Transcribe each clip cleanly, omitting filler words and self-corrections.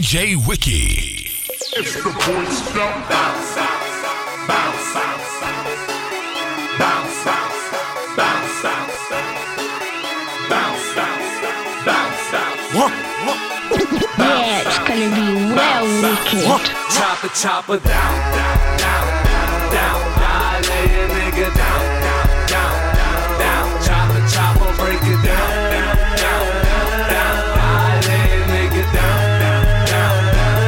DJ Wiki. It's the Boy Scout. Bounce, bounce, bounce, bounce, bounce, bounce, bounce, bounce, bounce. Yeah, it's gonna be well wicked. Chopper down, down, down, down. I lay a nigga down, down, down, down. Chopper, break it down, down, down. I lay a nigga down, down,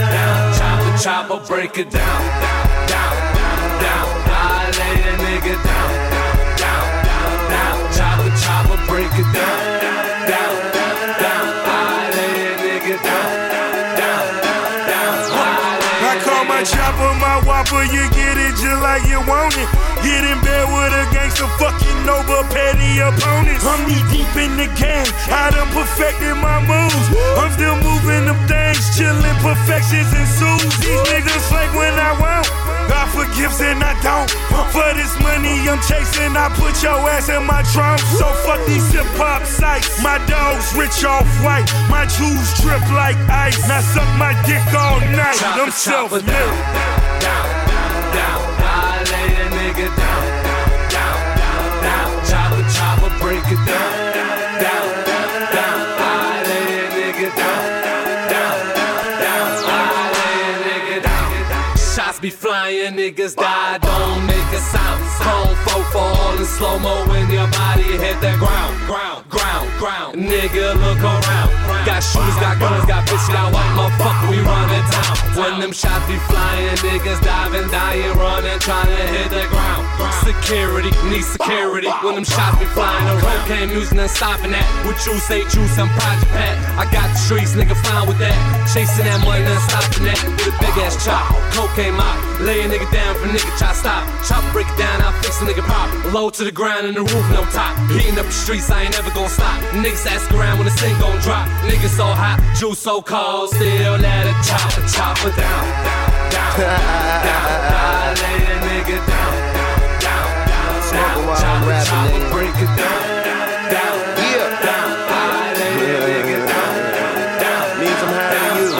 down. Chopper, break it down, down, down. I lay a nigga down, down, down. Chopper, break it down, down, down. I lay a nigga down, down, down. I call my chopper my whopper, you get it just like you want it. Get in bed with a gangster, fucking over petty opponents. I'm knee deep in the game, I done perfected my moves. I'm still moving them things, chillin', perfections ensues. These niggas fake when I want, God forgives and I don't. For this money I'm chasing, I put your ass in my trunk. So fuck these hip-hop sites. My dogs rich off white, my jewels drip like ice. Now suck my dick all night, I'm self-made. Down, down, down. I lay a nigga down, down, down, down. Chopper, break it down, down, down. I lay a nigga down, down, down. I lay a nigga down. Shots be flying, niggas die, don't make a sound. Chrome 4 fall in slow-mo when your body hit the ground, ground, ground, ground. Nigga, look around. Got shooters, got guns, got bitches, got white motherfucker, we running town. When them shots be flying, niggas diving, dying, running, trying to hit the ground. Security, need security. When them shots be flying around, cocaine music, none stopping that. What you say, juice, I'm Project Pat. I got the streets, nigga, fine with that. Chasing that money, none stopping that. With a big ass chop, cocaine mop. Lay a nigga down for nigga, try stop. Chop, break it down, I'll fix a nigga pop. Low to the ground and the roof, no top. Heating up the streets, I ain't never gonna stop. Niggas ask around when the thing gon' drop. Niggas so hot, juice so cold, still let it chopper down, down, down, down. I lay a nigga down, down, down, down. Chopper, break it down, down, down. I lay a nigga down, down. Means I'm high to you.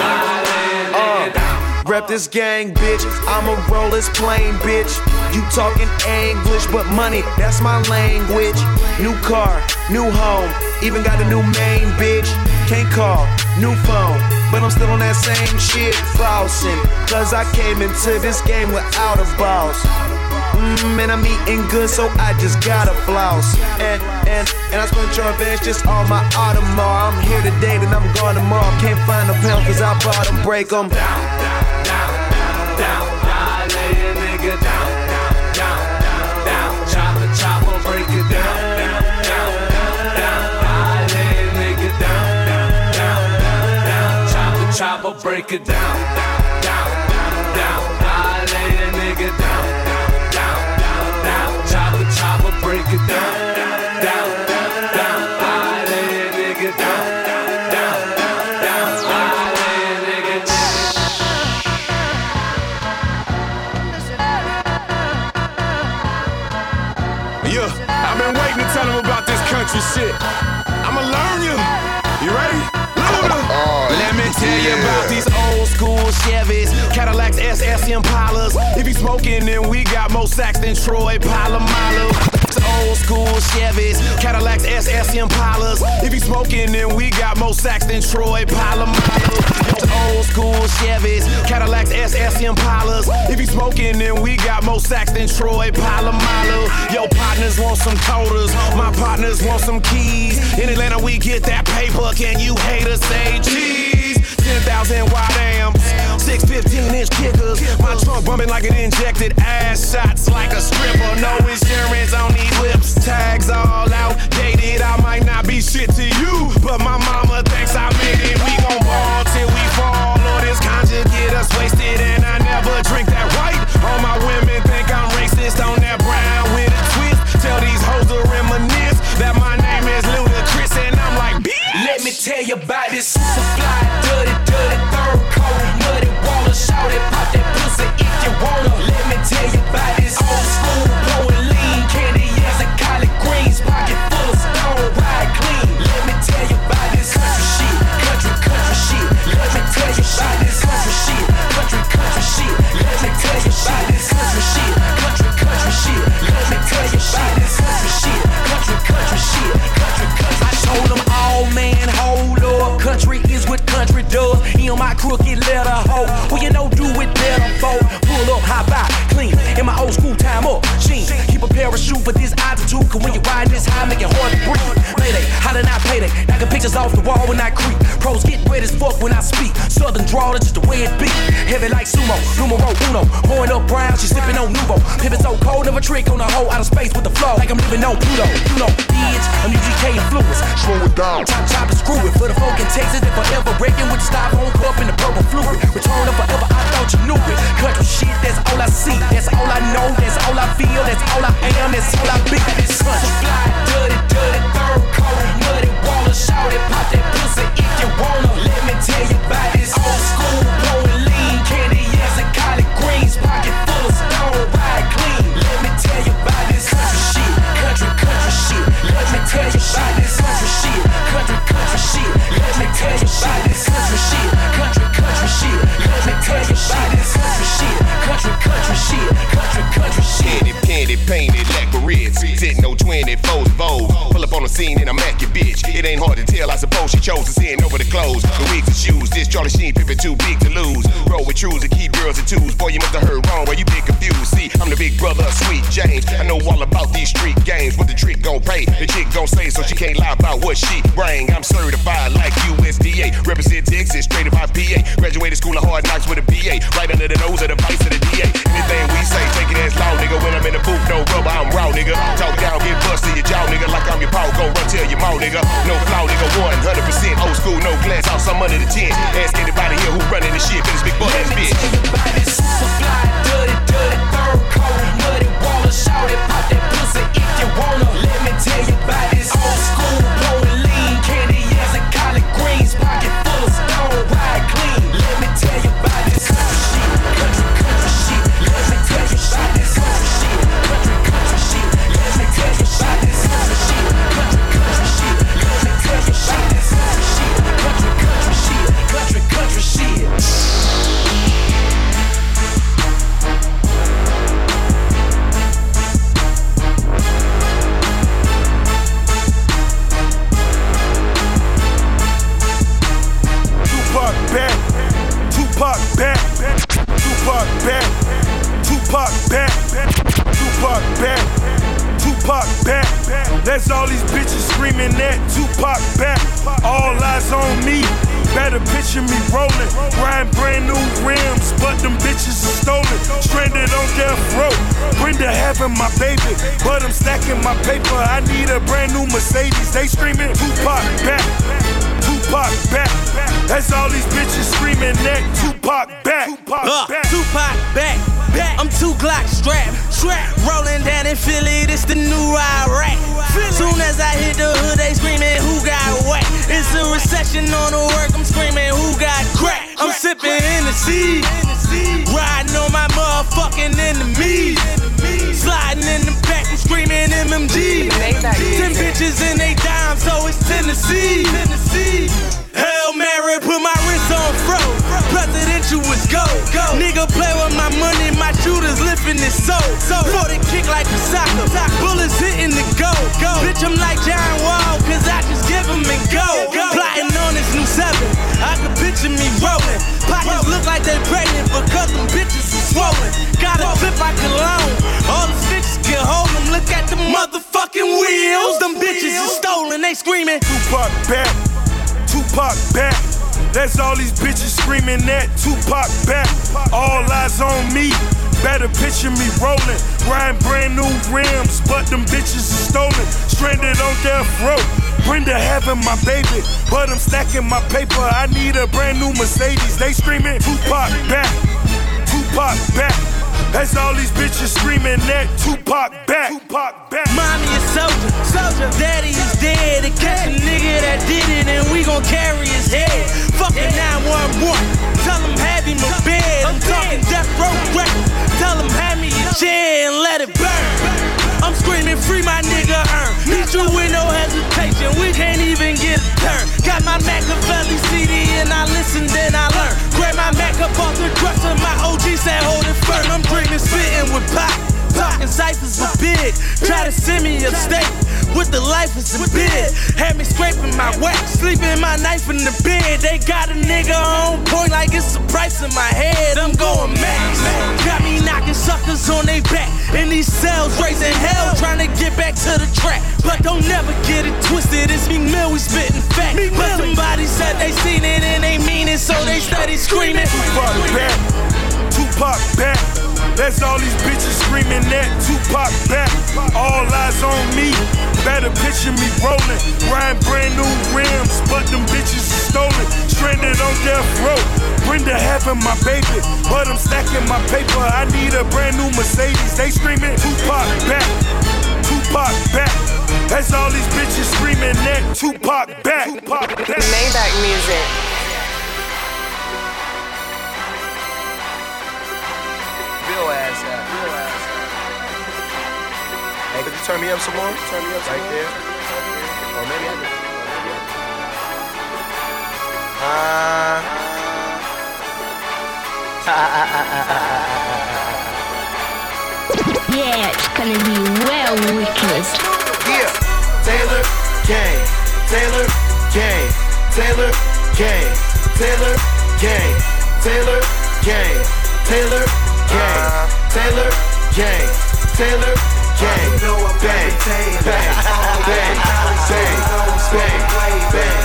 Rep this gang, bitch. I'ma roll this plane, bitch. You talking English, but money, that's my language. New car, new home, even got a new main, bitch. Can't call, new phone, but I'm still on that same shit, flossing. Cause I came into this game without a boss. And I'm eating good, so I just gotta floss. And I spent your advance just on my Audemars. I'm here today, then I'm gone tomorrow. Can't find a pound, cause I bought them, break them. Down, down, down, I lay a nigga down, down, down. Chopper, break it down, down, down. I lay a nigga down, down. Chopper, break it down, down, down. I lay a nigga down, down, down. Chopper, break it down, down, down. I lay a nigga down, down, down. I lay a nigga down. Yeah, I've been waiting to tell them about this country shit. I'ma learn you. You ready? Let me tell you about these old school Chevys, Cadillacs, SS Impalas. If you smoking, then we got more sacks than Troy Polamalu. Old school Chevys, Cadillacs, SS Impalas. If you smoking, then we got more sacks than Troy Polamalu. Old school Chevys, Cadillacs, SS Impalas. If you smoking, then we got more sacks than Troy Polamalu. Your partners want some coders, my partners want some keys. In Atlanta, we get that paper. Can you haters say cheese? 10,000 wide amps, 6 15-inch kickers. My trunk bumping like it injected ass shots like a stripper. No insurance on these whips, tags all outdated. I might not be shit to you, but my mama thinks I made it. We gon' ball till we fall, or this conjure get us wasted. And I never drink that white. All my women think I'm racist on that brown with a twist. Tell these hoes to reminisce that my name is Ludacris, and I'm like, bitch. Let me tell you about this super fly, dirty, third coat, muddy water, shout it, pop that pussy if you wanna. Let me tell you about this old school, blowing lean, candy as a collard greens, pocket full of stone, ride clean. Let me tell you about this country shit, country shit. Let me tell you about this fuck when I speak. Southern drawl, that's just the way it be. Heavy like sumo, numero uno. Pouring up brown, she sipping on Nuvo. Pippin' so cold, never trick on a hoe out of space with the flow. Like I'm living on Pluto. You know, bitch, I'm UGK influence. Slow it down. Chop and screw it. For the folk in Texas that forever breaking with the styrofoam cup and the purple fluid. Return of forever, I thought you knew it. Country shit, that's all I see. That's all I know, that's all I feel. That's all I am, that's all I be. This country fly, dirty, third coat, muddy water, shout it, pop that pussy if you wanna. Let me tell you about this old school, blowing lean, candy, yes, and collard greens, pocket full of stone, ride clean. Let me tell you about this country shit, country shit. Let me tell you about this country shit, country shit. Let me tell you about this country shit, country shit. Let me tell you about this country shit, country shit, country shit. Candy painted like a Ritz, sitting on 24's Vogue. Pull up on the scene and I'm at your bitch. It ain't hard to tell, I suppose she chose to sin over the clothes, the wigs and shoes. This Charlie Sheen Pippin too big to lose. Roll with trues and keep girls and twos. Boy, you must have heard wrong, where you been confused. See, I'm the big brother of Sweet James. I know all about these street games. What the trick gon' pay, the chick gon' say, so she can't lie about what she bring. I'm certified like USDA. Represent Texas, straight up IPA. Graduated school of hard knocks with a BA. Right under the nose of the vice of the DA. Anything we say, take it as law, nigga. When I'm in the booth, no rubber, I'm raw, nigga. Talk down, get bust to your jaw, nigga. Like I'm your power, go run tell your mouth, nigga. No flaw, nigga. 100% old school, no glass house, I'm under the tent. Ask anybody here who running this shit, but it's big butt ass bitch. Let me tell you about this super fly, dirty, third coat, muddy water, shout it, pop that pussy if you wanna. Let me tell you about this old school, blowing lean, candy, yes, and collard greens, pocket full of stone, ride clean. Let me tell you about this country shit, country shit. Let me tell you about this country shit, country shit. Let me tell you about this country shit, country shit. Let me tell you about this country shit, country shit. Tupac back. That's all these bitches screaming that Tupac back. All eyes on me. Better picture me rolling, riding brand new rims, but them bitches are stolen. Stranded on death row. Brenda having my baby, but I'm stacking my paper. I need a brand new Mercedes. They screaming Tupac back. Tupac back. That's all these bitches screaming that Tupac back. Tupac back. I'm 2 Glock strapped. Rolling down in Philly, this the new Iraq. Soon as I hit the hood, they screaming who got whack. It's a recession on the work, I'm screaming who got crack. I'm sipping Hennessy, riding on my motherfucking enemies. Sliding in the back, I'm screaming MMG. 10 bitches in they dime, so it's Tennessee. Hail Mary, put my wrist on fro. Presidential was go. Nigga play with my money, my shooters lifting his soul. 40 kick like a soccer, bullets hitting the go. Bitch, I'm like John Wall, cause I just give him and go. Plotting on this new 7, I can picture me rolling. Pockets look like they pregnant because them bitches are swollen. Got a clip I can loan, all the bitches can hold them. Look at the motherfucking wheels, them bitches are stolen. They screaming Tupac back. Tupac back. That's all these bitches screaming that Tupac back. All eyes on me. Better picture me rolling, riding brand new rims, but them bitches are stolen. Stranded on death row. Brenda having my baby, but I'm stacking my paper. I need a brand new Mercedes. They screaming Tupac back. Tupac back. That's all these bitches screaming that Tupac back. Mommy is soldier, daddy is dead. To catch a nigga that did it and we gon' carry his head. Fucking 911, tell him have him a bed. I'm talking death row records, tell him hand me a chair and let it burn. I'm screaming free my nigga Earn. Meet you with no hesitation, we can't even get a turn. Got my Machiavelli CD and I listen then I learn. Grab my Mac up off the dresser, my OG said hold it firm. I'm dreaming spitting with pop. Talking ciphers were big, try to send me upstate with the life is a bid. Had me scraping my wax, sleeping my knife in the bed. They got a nigga on point like it's a price in my head. I'm going max. Got me knocking suckers on they back in these cells, raising hell, trying to get back to the track. But don't never get it twisted. It's me Mill, we spitting fact. But somebody said they seen it and they mean screaming. Tupac back, Tupac back. That's all these bitches screaming that Tupac back. All eyes on me. Better picture me rolling. Riding brand new rims, but them bitches are stolen. Stranded on death row. Brenda having my baby, but I'm stacking my paper. I need a brand new Mercedes. They screaming Tupac back, Tupac back. That's all these bitches screaming that Tupac back. Tupac back. Maybach music. Bill ass out. Hey, could you turn me up some more? Turn me up some more. There. Or maybe I can. Yeah, it's gonna be well wicked. Yeah, Taylor Gang, Taylor Gang, Taylor Gang, Taylor Gang, Taylor Gang, Taylor Gang, Taylor Gang, Taylor Gang, bang, bang, bang, bang, bang, bang, bang, bang,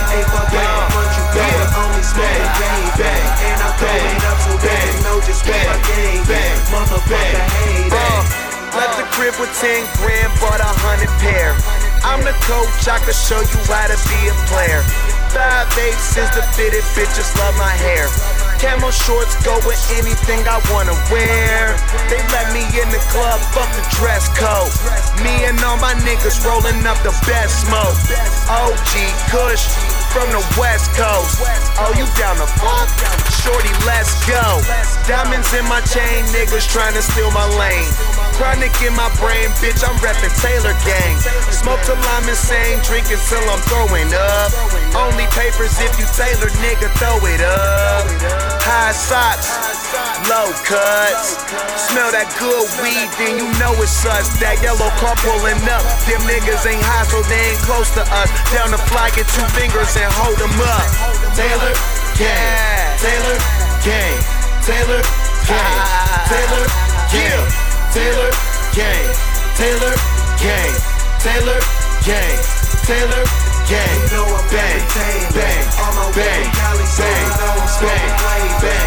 left the crib with 10 grand, bought 100 pair. I'm the coach, I can show you how to be a player. 5'8" is the fitted, bitches love my hair. Camo shorts go with anything I wanna wear. They let me in the club, fuck the dress code. Me and all my niggas rolling up the best smoke. OG Kush from the West Coast. Oh, you down the fuck? Shorty, let's go. Diamonds in my chain, niggas trying to steal my lane. Chronic in my brain, bitch, I'm reppin' Taylor Gang. Smoke till I'm insane, drinking till I'm throwing up. Only papers if you Taylor, nigga, throw it up. High socks, low cuts. Smell that good weed, then you know it's us. That yellow car pulling up. Them niggas ain't high, so they ain't close to us. Down the fly, get 2 fingers and hold them up. Taylor Gang, Taylor Gang, Taylor Gang, Taylor Gang, Taylor Gang, Taylor Gang, Taylor Gang, Taylor Gang, bang, bang, bang, bang, bang, bang, bang,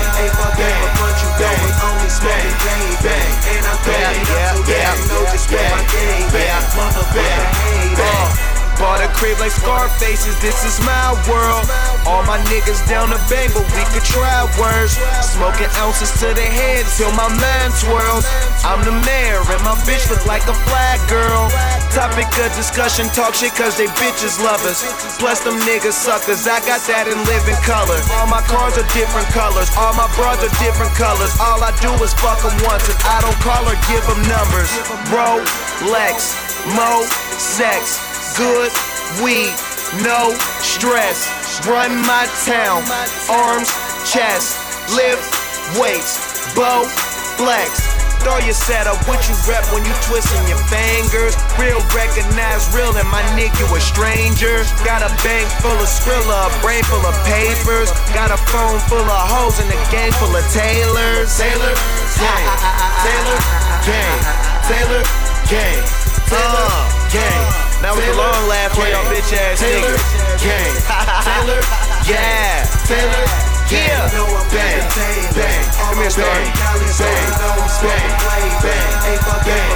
bought a crib like Scarface's, this is my world. All my niggas down the bang, but we could try worse. Smoking ounces to the head till my mind swirls. I'm the mayor and my bitch look like a flag girl. Topic of discussion, talk shit cause they bitches love us. Plus them niggas suckers, I got that in living color. All my cars are different colors, all my bras are different colors. All I do is fuck them once and I don't call or give them numbers. Rolex, Mo, sex, good weed, no stress. Run my town, arms, chest, lift weights, bow, flex. Throw your setup, what you rep when you twisting your fingers. Real recognize real and my nigga a stranger. Got a bank full of Skrilla, a brain full of papers. Got a phone full of hoes and a gang full of tailors. Taylor Gang, Taylor Gang, Taylor Gang, Taylor Gang. That was a long laugh for y'all bitch ass niggas. Gang, Taylor, yeah, Taylor, yeah, bang, bang, come here, Star, bang, bang, bang, bang, bang, bang,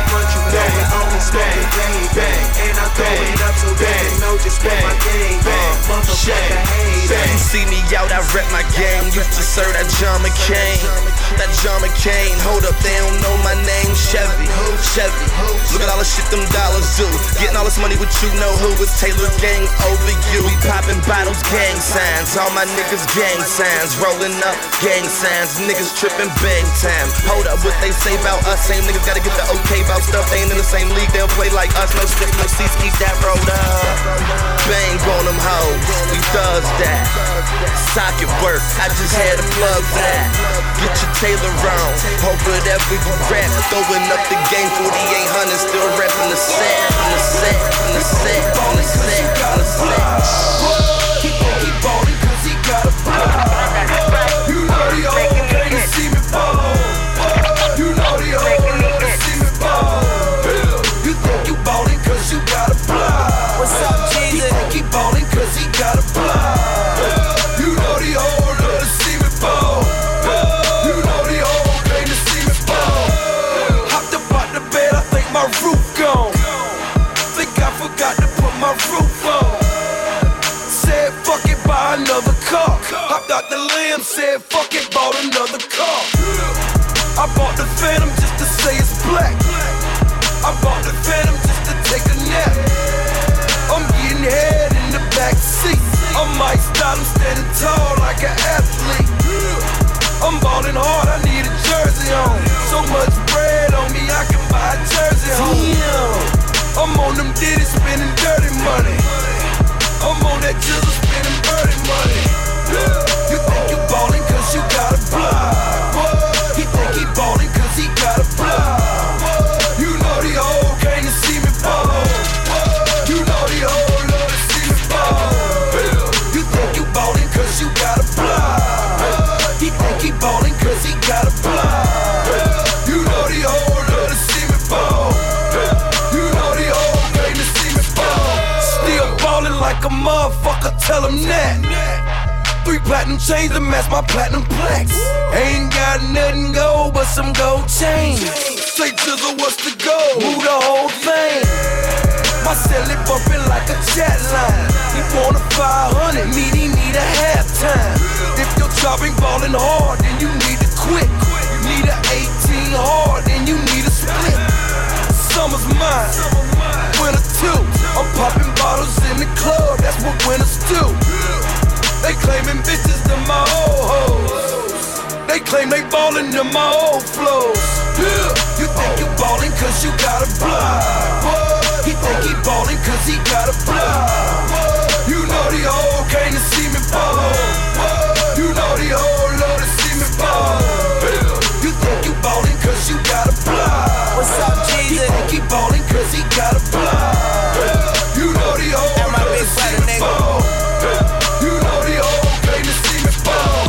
You see me out, I rep my game. Used to serve that John McCain. That John McCain. Hold up, they don't know my name. Chevy. Look at all the shit them dollars do. Getting all this money with you, know who? It's Taylor Gang over you. We popping bottles, gang signs. All my niggas gang signs. Rolling up, gang signs. Niggas tripping big time. Hold up, what they say about us? Same niggas gotta get the okay about stuff. They ain't in the same league, they'll play like us. No stick, no seats, keep that rolled up. Bang on them hoes, we thugs that. Socket work, I just had a plug for that. Get your Taylor on, hope whatever you rap. Throwing up the game, 4800, still repping the set. On the set, on the set, on the set, on the set. He ballin' cause he got a plan. You know the old can't see me fall. You know the old can't see me fall. You think you ballin' cause you got a plan. What's up, Jesus? You think he ballin' cause he got a plan. You know the old love to see me fall. Dr. Lamb said, fuck it, bought another car. I bought the Phantom just to say it's black. I bought the Phantom just to take a nap. I'm getting head in the back seat. I might style, I'm standing tall like an athlete. I'm ballin' hard, I need a jersey on. So much bread on me, I can buy a jersey home. I'm on them Diddy spending dirty money. I'm on that jizzle spending dirty money. You think you ballin' cause you got a block. He think he ballin' cause he got a block. You know the hoe came to see me ball. You know the hoe love to see me ball. You think you ballin' cause you got a block. He think he ballin' cause he got a block. You know the hoe love to see me ball. You know the hoe came to see me ball. Still ballin' like a motherfucker, tell him that. 3 platinum chains to match my platinum plaques. Ain't got nothing gold but some gold chains. Say Jizzle, what's the goal? Move the whole thing. My celly bumpin' like a chat line. He want a 500, he need a halftime. If your job ain't ballin' hard, then you need to quit. You need a 18 hard, then you need a split. Summer's mine, winter too. I'm popping bottles in the club, that's what winners do. They claimin' bitches to my old hoes. They claim they ballin' to my old flows. You think you ballin' cause you got a block. He think he ballin' cause he got a block. You know the hoe came to see me ball. You know the hoe love to see me ball. You think you ballin' cause you got a block. What's up, Jesus? He think he ballin' cause he got a block. You know the hoe love to see me ball. You know the hoe came to see me ball.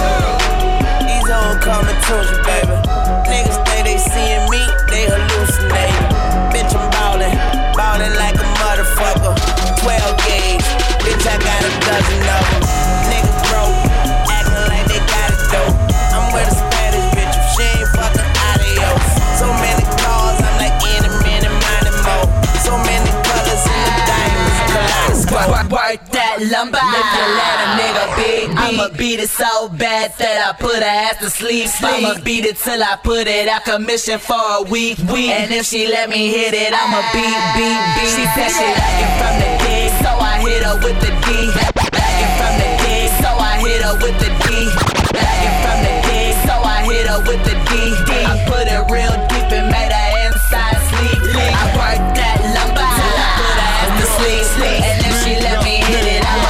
These hoes coming to you, baby. Niggas think they seeing me, they hallucinating. Bitch, I'm ballin' like a motherfucker. 12 gauge, bitch, I got a dozen of them. Niggas broke, acting like they got it though. I'm with a Spanish bitch, if she ain't fucking adios. So many cars, I'm like in a minute, minding more. So many colors in the diamonds, kaleidoscope. Work that lumber, if you let a nigga beat me, I'ma beat it so bad that I put her ass to sleep. I'ma beat it till I put it out commission for a week. And if she let me hit it, I'ma beat. She said she like it from the dig, so I hit her with the D. Like it from the dig, so I hit her with the D. Like it from the dig, so I hit her with the D. I put it real deep and made her inside sleep. I worked that lumber till I put her ass to sleep. And if she let me hit it, I'ma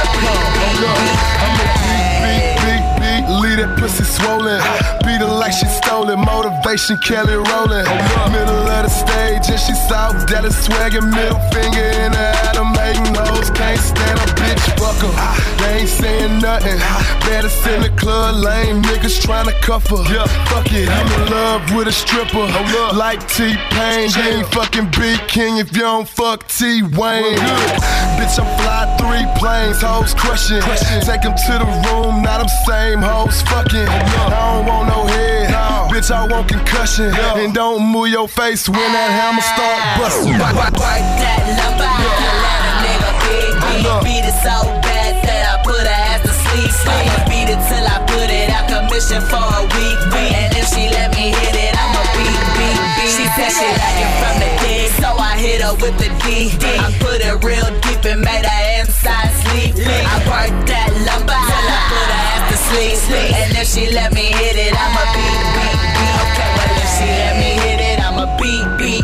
beat, leave that pussy swollen. Beat her like she stolen. Motivation, Kelly rolling. Middle of the stage and she South Dallas swaggin'. Middle finger in the Adam hating hoes. Can't stand a bitch, fuck her. They ain't saying nothing. Baddest in the club, lame niggas tryna cuff her. Fuck it, I'm in love with a stripper. Like T-Pain, you ain't fucking Big King if you don't fuck T-Wayne. Bitch, I'm fly 3 planes, hoes crushin'. Take them to the room, now them same hoes fucking. I don't want no head, bitch, I want concussion. And don't move your face when that hammer start bustin'. Work that lumber, let a nigga beat it so bad that I put her ass to sleep. I'ma beat it till I put it out commission for a week. And if she let me hit it, I'ma beat. She said she like it from the dig, so I hit her with the D. I put it real deep and made her inside sleep. I worked that lumber till I put her ass to sleep. And if she let me hit it, I'ma beat. Okay, well if she let me hit it, I'ma beat.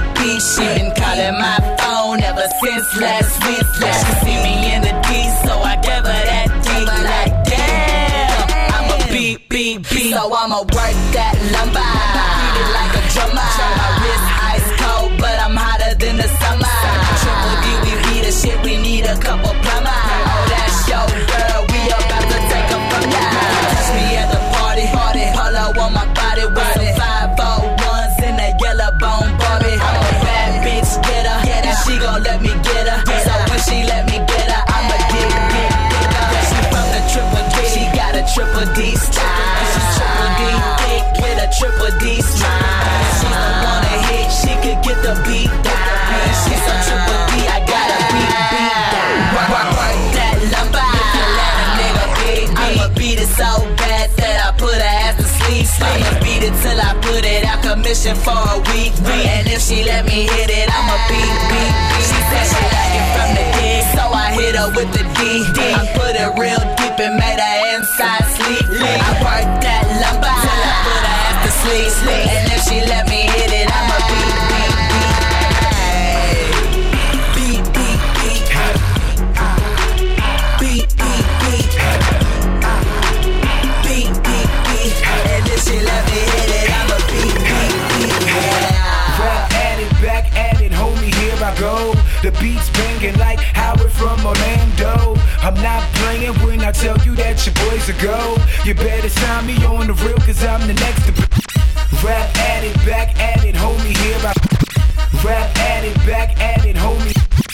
She been calling my phone ever since last week. She see me in the D, so I gave her that D. Like damn, I'ma beat. So I'ma work that lumber. Beat it like a drummer. My wrist ice cold, but I'm hotter than the summer. Triple D, we beat the shit, we need a couple plumber. Oh, that's your girl, we about to take her from ya. Catch me at the party. Polo on my body with some 501s in a yellow bone Barbie. I'm a bad bitch, get her. She gon' let me get her. So when she let me get her, I'ma get her. She from the triple D, she got a triple D style. She's triple D thick with a triple D smile. She's the one to hit, she could get the beat down. She's a triple D, I got a beat down. Work that lumber. it till I put it out commission for a week. And if she let me hit it, I'ma beat. She said she like it from the dig, so I hit her with the D. I put it real deep and made her inside sleep. I worked that lumber till I put her ass to sleep. And if she let me hit it, I'ma beat. And if she let me hit it, I'ma beat. Rap at it, back at it, homie, here I go. The beat's banging like Howard from Orlando. I'm not playing when I tell you that your boys are go. You better sign me on the real, cause I'm the next to rap at it, back at it, homie, here I rap at it, back at it, homie.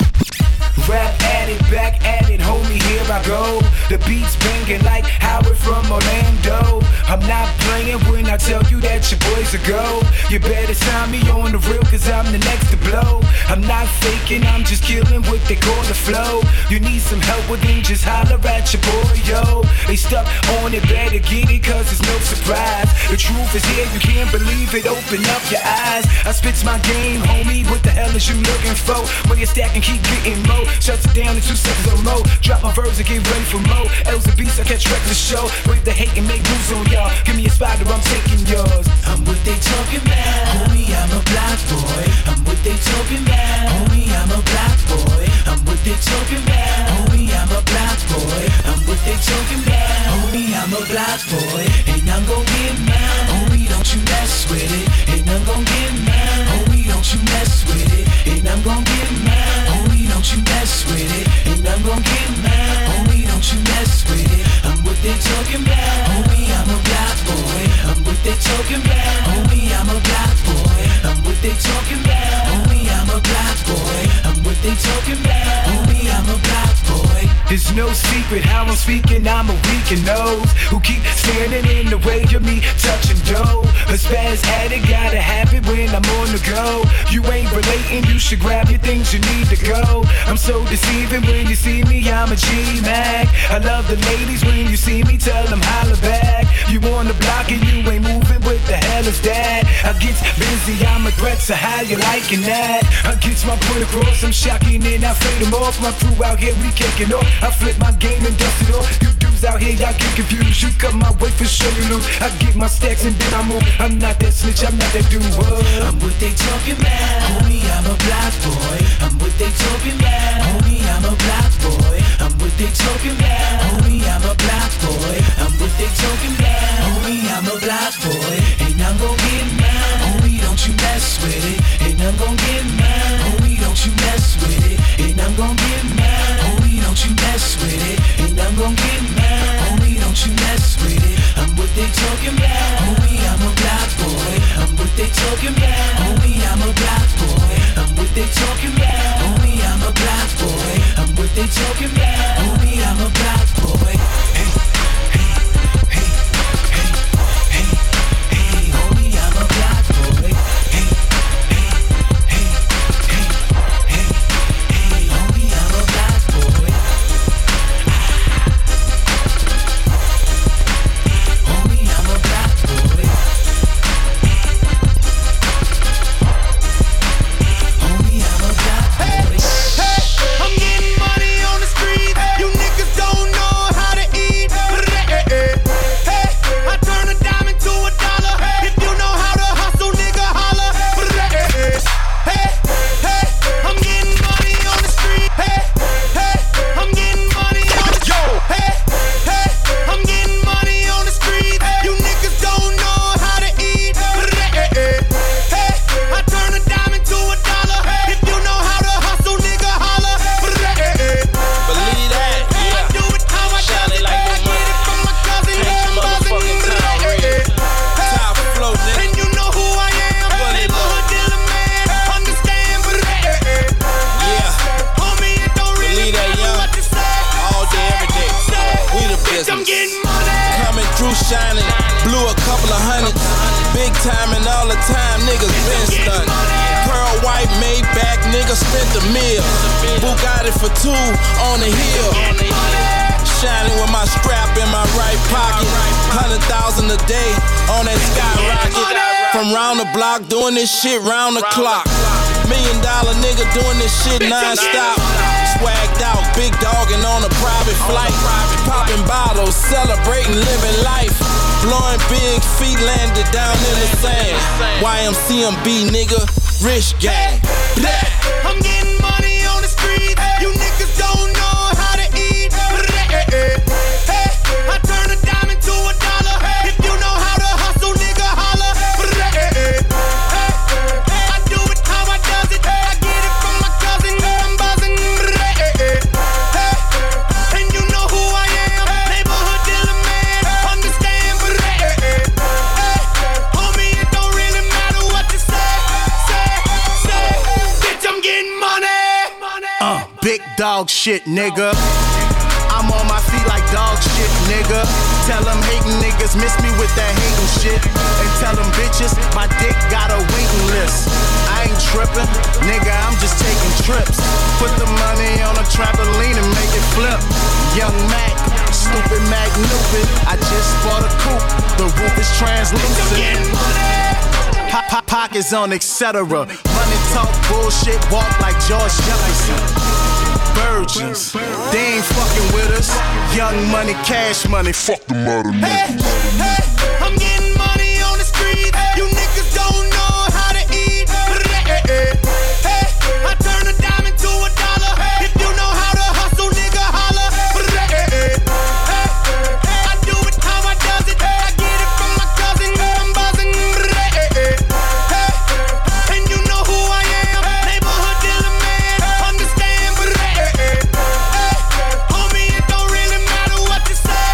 Rap at it, back at it, homie, here I go. The beat's banging like Howard from Orlando. I'm not playing when I tell you that your boys are go. You better sign me on the real, cause I'm the next to blow. I'm not faking, I'm just killing what they call the flow. You need some help with it, just holler at your boy, yo. They stuck on it, better get it, cause it's no surprise. The truth is here, you can't believe it, open up your eyes. I spits my game, homie, what the hell is you looking for? When you stack and keep getting more, shuts it down in 2 seconds or more. Drop my verbs and get ready for more. L's and beats, I catch reckless show. Break the hate and make moves on y'all. Give me a spot or I'm taking yours. I'm what they talking about, homie, I'm a black boy. I'm what they talking about, homie, I'm a black boy. I'm what they talking about, homie, I'm a black boy. I'm what they talking about, homie, I'm a black boy. And I'm gon' get mine, homie, don't you mess with it. And I'm gon' get mine, homie, don't you mess with it. And I'm gon' get mine, homie, don't you mess with it. And I'm gon' get mine, homie, don't you mess with it. I'm what they talking about, homie, I'm a black boy. I'm what they talking about, homie, I'm a black boy. I'm what they talking about, homie, I'm a black boy. I'm what they talking about, homie, I'm a black boy. It's no secret how I'm speaking, I'm a weak and nose who keep standing in the way of me touching dough. A spaz addict, gotta have it when I'm on the go. You ain't relating, you should grab your things, you need to go. I'm so deceiving when you see me, I'm a G-Mac. I love the ladies when you see me, tell them holla back. You on the block and you ain't moving, what the hell is that? I get busy, I'm a threat, so how you liking that? I get my point across, I'm shocking and I fade them off. My crew out here, we kicking off. I flip my game and dust it off. You dudes out here, y'all get confused. You cut my way for sure you lose. I get my stacks and then I move. I'm not that snitch, I'm not that dude. I'm what they talking about, homie, I'm a black boy. I'm what they talking about, homie, I'm a black boy. I'm what they talking about, homie, I'm a black boy. I'm what they talking about, homie, I'm a black boy. And I'm gon' get mine, homie, don't you mess with it. And I'm gon' get mine, homie, don't you mess with it. And I'm gon' get mine, homie, don't you mess with it. And I'm gon' get mine, homie, don't you mess with it. I'm what they talking about, homie, I'm a black boy. I'm what they talking about, homie, I'm a black boy. I'm what they talking about, homie, I'm a black boy. I'm what they talking about, homie, I'm a black boy. Hey, hey, hey, hey, hey, hey, homie, I'm a black boy. Hey, hey, hey, hey, hey, hey, homie, I'm a black boy. Homie, I'm a black boy. Homie, I'm a black boy. Hey, I'm getting money on the street. You niggas don't know how to eat. Hey, I turn a dime into $1. If you know how to hustle, nigga, holla. Hey, I'm getting money on the street. Hey, I'm getting money on the street. Hey, I'm getting money on the street. You niggas don't know how to eat. Hey, I turn a dime into $1. If you know how to hustle, nigga, holla. Believe that, I do it how I Shine do it it. like I no get it from my cousin. Paint your I'm motherfucking town red. Time for flow, nigga. and you know who I am. Neighborhood dealer, man. Understand, Yeah, homie, it don't really believe that, matter young. what you say. All day, every day. We the Bitch, I'm business. getting money. Coming through shining, blew a couple of hundreds. Big time and all the time, niggas been stunned. Pearl white Maybach, nigga spent the meal. Bugatti for 2 on the hill. Shining with my strap in my right pocket. 100,000 $1,000 a day on that skyrocket. From round the block, doing this shit round the clock. $1 million nigga doing this shit non-stop. Swagged out, big dogging on a private flight. Popping bottles, celebrating, living life. Blowing big feet landed down in the sand. YMCMB nigga, rich gang. I'm getting money on the street. You niggas don't know how to eat. Hey, I turn a dime into $1. If you know how to hustle, nigga, holla. Hey, I do it how I does it. I get it from my cousin. I'm buzzing. Hey, and you know who I am. Neighborhood dealer man. Understand. Hey, homie, it don't really matter what you say. Bitch, I'm getting money. Big dog shit, nigga. I'm on my feet like dog shit, nigga. Tell them hating niggas miss me with that hating shit. And tell them bitches my dick got a waiting list. I ain't tripping, nigga, I'm just taking trips. Put the money on a trampoline and make it flip. Young Mac, stupid Mac Newpid. I just bought a coupe, the roof is translucent. Pockets on, etc. Money talk, bullshit, walk like George Jefferson. Virgins, they ain't fucking with us. Young money, cash money, fuck the mother niggas. Hey, I'm getting money on the street. You niggas don't know how to eat. Hey, I turn a dime into $1. If you know how to hustle, nigga, holla. Hey, I do it how I does it. I get it from my cousin. I'm buzzing. Hey, and you know who I am. Neighborhood dealer man. Understand. Homie, it don't really matter what you say.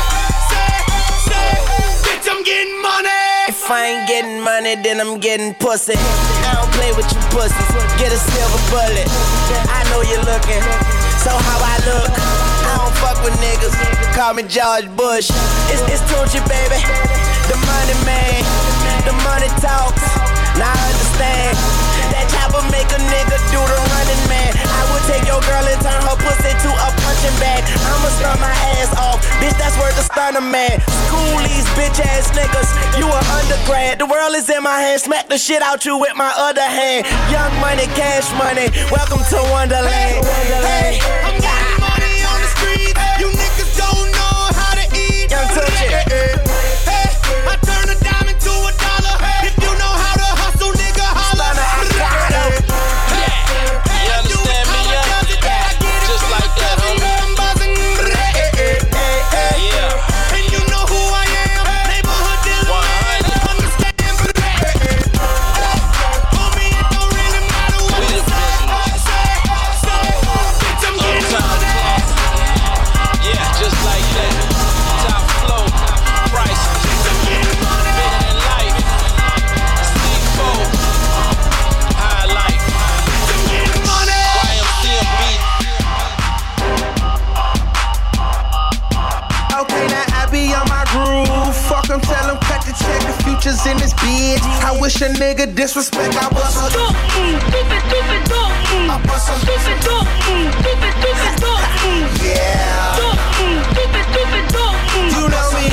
Bitch, I'm getting money. If I ain't getting money, then I'm getting pussy. I don't play with you pussies. Get a silver bullet. I know you're looking. So how I look? I don't fuck with niggas. Call me George Bush. It's Tunchi, baby. The money man. The money talks. Now I understand. That chopper make a nigga do the running man. I would take your girl and turn her pussy to a punching bag. I'ma stun my ass off. Bitch, that's worth a stunner man. School these bitch ass niggas. You an undergrad. The world is in my hand. Smack the shit out you with my other hand. Young money, cash money. Welcome to Wonderland. Hey, I'm getting money on the street. You niggas don't know how to eat. Young Tunchi. Hey, I turn a dime into $1. If you know how to hustle, nigga, holla. You understand me, yeah? Just like that, homie. I'm buzzing. Yeah. And you know who I am. Neighborhood dealer man. Understand. Homie, it don't really matter what you say. Bitch, I'm getting money. Yeah, just like that. Top flow, price. I'm getting money. Bigger than life. C4. High life. I'm getting money. YMCMB. Okay, now I be on my groove. Fuck 'em, tell 'em cut the check. The future's in this bitch. I wish a nigga disrespect. I was a yeah. You know me.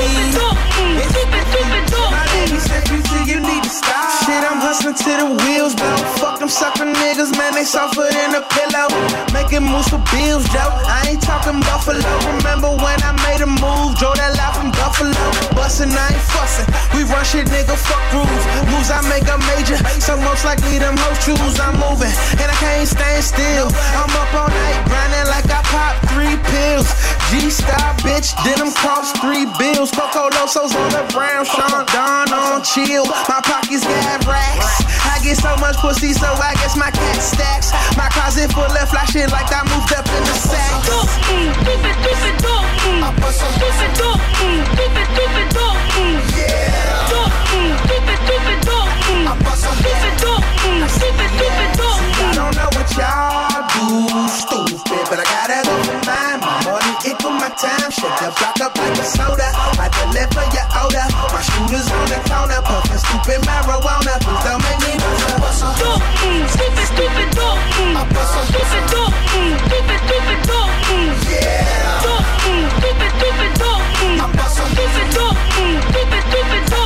My lady said you need to stop. Shit, I'm hustling to the wheels, bro. Fuck them sucker niggas, man. They softer than a pillow. Making moves for bills, Joe. I ain't talking Buffalo. Remember when I made a move? Drove that lot from Buffalo. Bustin', I ain't fussin'. We run shit, nigga. Fuck rules. Moves I make a major. So most likely them hoes choose. I'm moving, and I can't stand still. I'm up all night, grinding like I popped 3 pills. G-Star, bitch, denim cost 3 bills. Coco Loso's on the brown, Sean Don on chill. My pockets got racks. I get so much pussy, so I guess my cat stacks. My closet full of fly shit like I moved up in the sack. I put some pussy. Yeah. I put some I don't know what y'all do, stupid, but I gotta go for mine. My money equal my time. Shut the block up like a soda. I deliver your order. My shooters on the corner, puffin' stupid marijuana. Please don't make me lose a bustle. I put some yeah. I put some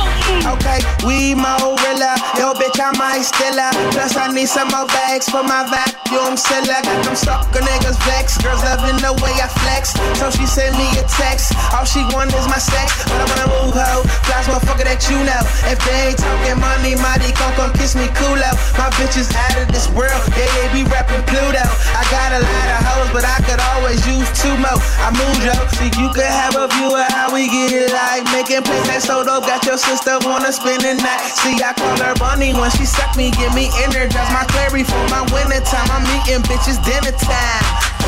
We Morilla, yo bitch, I might steal her. Plus I need some more bags for my vacuum sealer. Got them sucker niggas vexed. Girls loving the way I flex, so she sent me a text. All she want is my sex, but I wanna move ho. Flies motherfucker that you know. If they ain't talking money, mighty gon' come kiss me coolo. My bitch is out of this world, yeah, they be rapping Pluto. I got a lot of hoes, but I could always use 2 more. I move yo, so you could have a view of how we get it like. Making plays that so dope, got your sister wanna spend the night. See, I call her Bunny when she suck me, give me energize. My clary for my winter time, I'm eating bitches dinner time.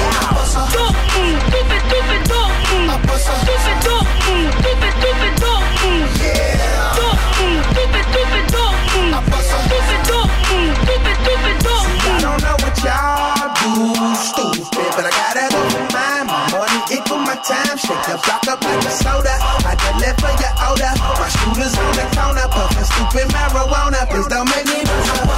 I don't know what y'all do, stupid, but I gotta go for mine. My money equal my time. Shake the block up like a soda. I deliver your order. My shooters on the corner, puffin' stupid marijuana. Please don't make me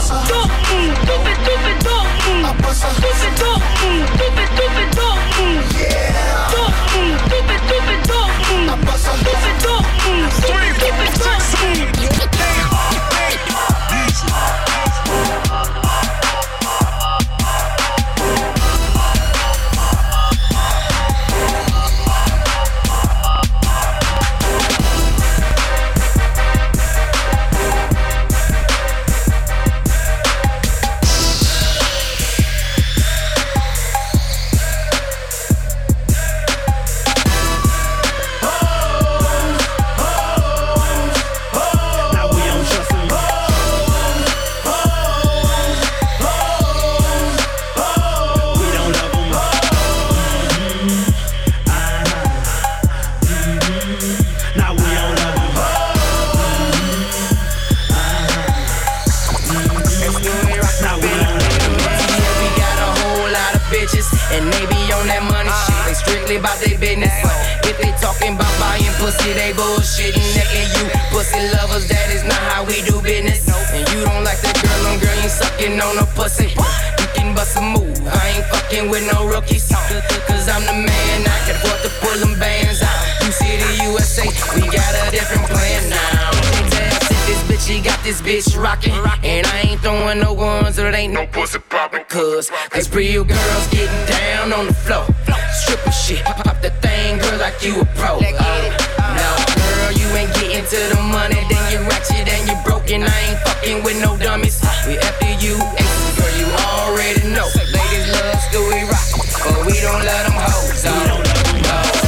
about their business. If they talking about buying pussy, they bullshitting. Necking you pussy lovers, that is not how we do business. And you don't like that girl on girl, you sucking on a pussy. You can bust a move, I ain't fucking with no rookies. Cause I'm the man, I can afford to pull them bands out. You see the USA, we got a different plan now. This bitch, she got this bitch rockin'. And I ain't throwing no ones, so it ain't no pussy poppin'. Cause real girls getting down on the floor. Stripper shit, pop the thing, girl, like you a pro. No, girl, you ain't getting to the money. Then you ratchet and you broken. I ain't fucking with no dummies. We after you, girl, you already know. Ladies love Stewie Rock, but we don't let them hoes. We don't let them hoes.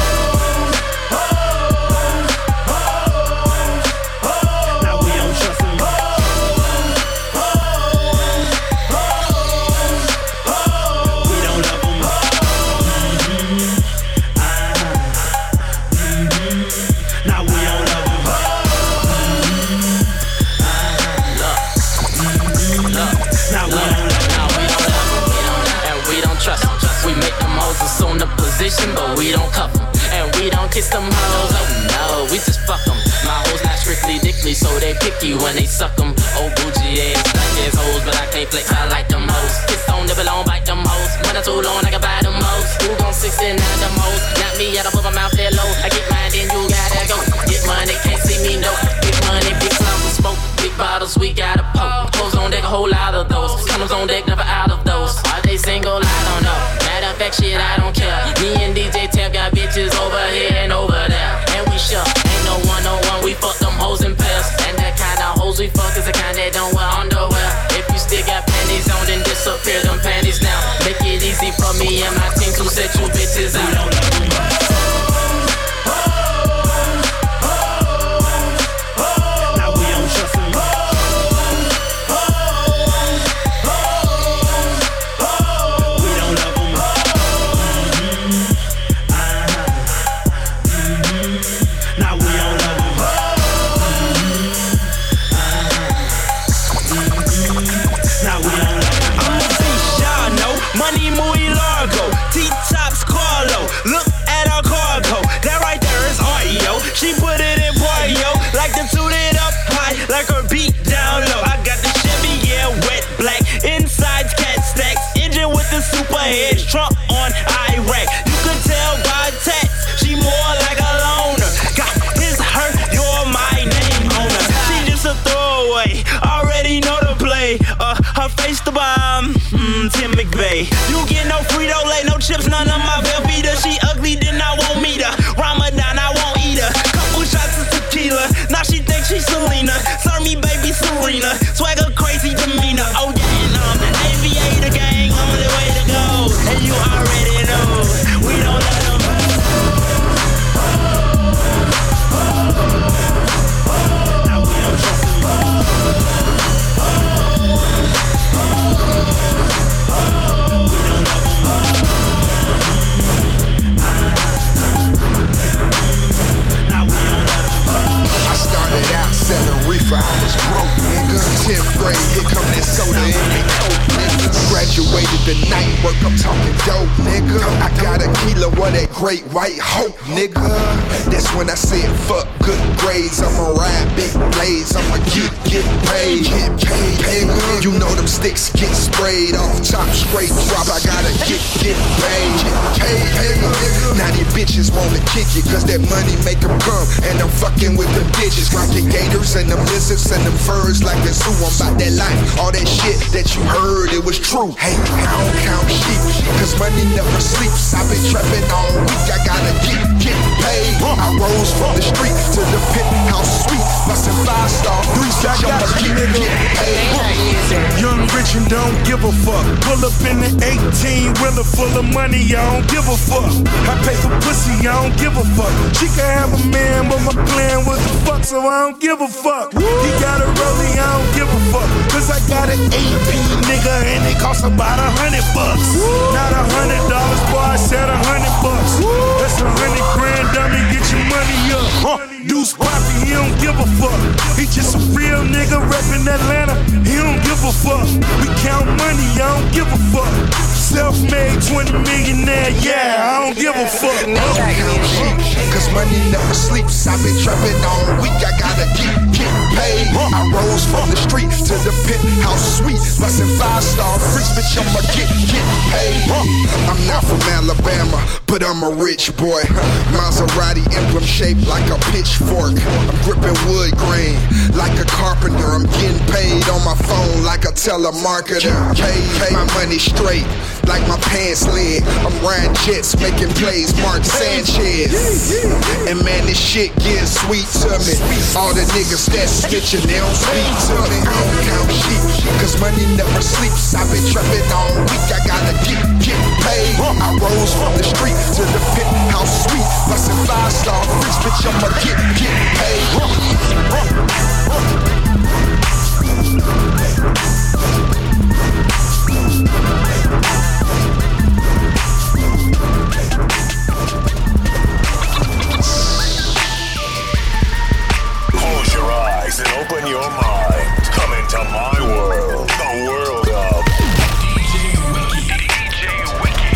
On the position, but we don't cuff them. And we don't kiss them hoes, oh no, we just fuck them. My hoes not strictly dickly, so they picky when they suck them. Oh, bougie ass, stuck ass hoes, but I can't flex, I like them hoes. Kiss on, nibble on, bite them hoes. When I'm too long, I can buy them hoes. Who gon' 69 them hoes? Not me, I don't put my mouth there low. I get mine, then you gotta go. Get money, can't see me, no. Big money, big clouds of smoke. Big bottles, we gotta poke. Hoes on deck, a whole lot of those. Condoms on deck, never out of those. Are they single? I don't know. Matter of fact, shit, I don't care. Me and DJ Tab got bitches over here and over there. And we sure ain't no one-on-one, we fuck them hoes in pairs. And that kind of hoes we fuck is the kind that don't wear underwear. If you still got panties on, then disappear them panties now. Make it easy for me and my team to set you bitches out. Tim McVeigh. You get no Frito-Lay, no chips, none of my Velveeta. She ugly, then I won't meet her. Ramadan, I won't eat her. Couple shots of tequila, now she thinks she's Selena. Serve me, baby Serena. Swagger, crazy demeanor. Oh yeah, and I'm the aviator gang, only way to go. And you already know, we don't let them. Now we don't trust them. I started out selling reefer, I was broke, nigga. 10th grade, here come that soda in the coke, nigga. Graduated the night work, I'm talking dope, nigga. I got a kilo of that great white hope, nigga. That's when I said fuck good grades, I'ma ride big blades, I'ma get paid, nigga. You know them sticks get sprayed off top, straight drop, I gotta get paid, nigga. Now these bitches wanna kick it, cause that money make them come, and I'm fucking with them digits, rockin' gators and them lizards and them furs like a zoo. I'm about that life, all that shit that you heard, it was true. Hey, I don't count sheep, cause money never sleeps. I've been trapping all week, I gotta get paid. I rose from the street to the penthouse suite, bustin' 5-star, 3-star, I'ma get paid. Young, rich, and don't give a fuck. Pull up in the 18-wheeler full of money, I don't give a fuck. I pay for pussy, I don't give a fuck. She can have a man, but my plan was to fuck, so I don't give a fuck. He got a rollie, I don't give a fuck. Cause I got an AP, nigga, and it costs about $100. Not $100, boy, I said $100. That's $100 grand, dummy, get your money up. Deuce Poppy, he don't give a fuck. He just a real nigga reppin' Atlanta, he don't give a fuck. We count money, I don't give a fuck. Self-made 20 millionaire, yeah, I don't give a fuck. Cause money never sleeps, I've been trapping all week, I gotta get paid. I rose from the street to the penthouse suite, bustin' 5-star freaks, bitch, I'ma get paid. I'm not from Alabama, but I'm a rich boy. Maserati emblem shaped like a pitchfork. I'm gripping wood grain like a carpenter. I'm getting paid on my phone like a telemarketer. Pay my money straight like my pants leg. I'm riding jets, making plays, Mark Sanchez. And man, this shit getting sweet to me. All the niggas that snitching, they don't speak to me. I don't count sheep, cause money never sleeps. I've been trapping all week, I gotta get paid. I rose from the street to the penthouse suite, bustin' 5-star freaks, bitch, I'ma get paid. Close your eyes and open your mind. Come into my world, the world of DJ Wiki.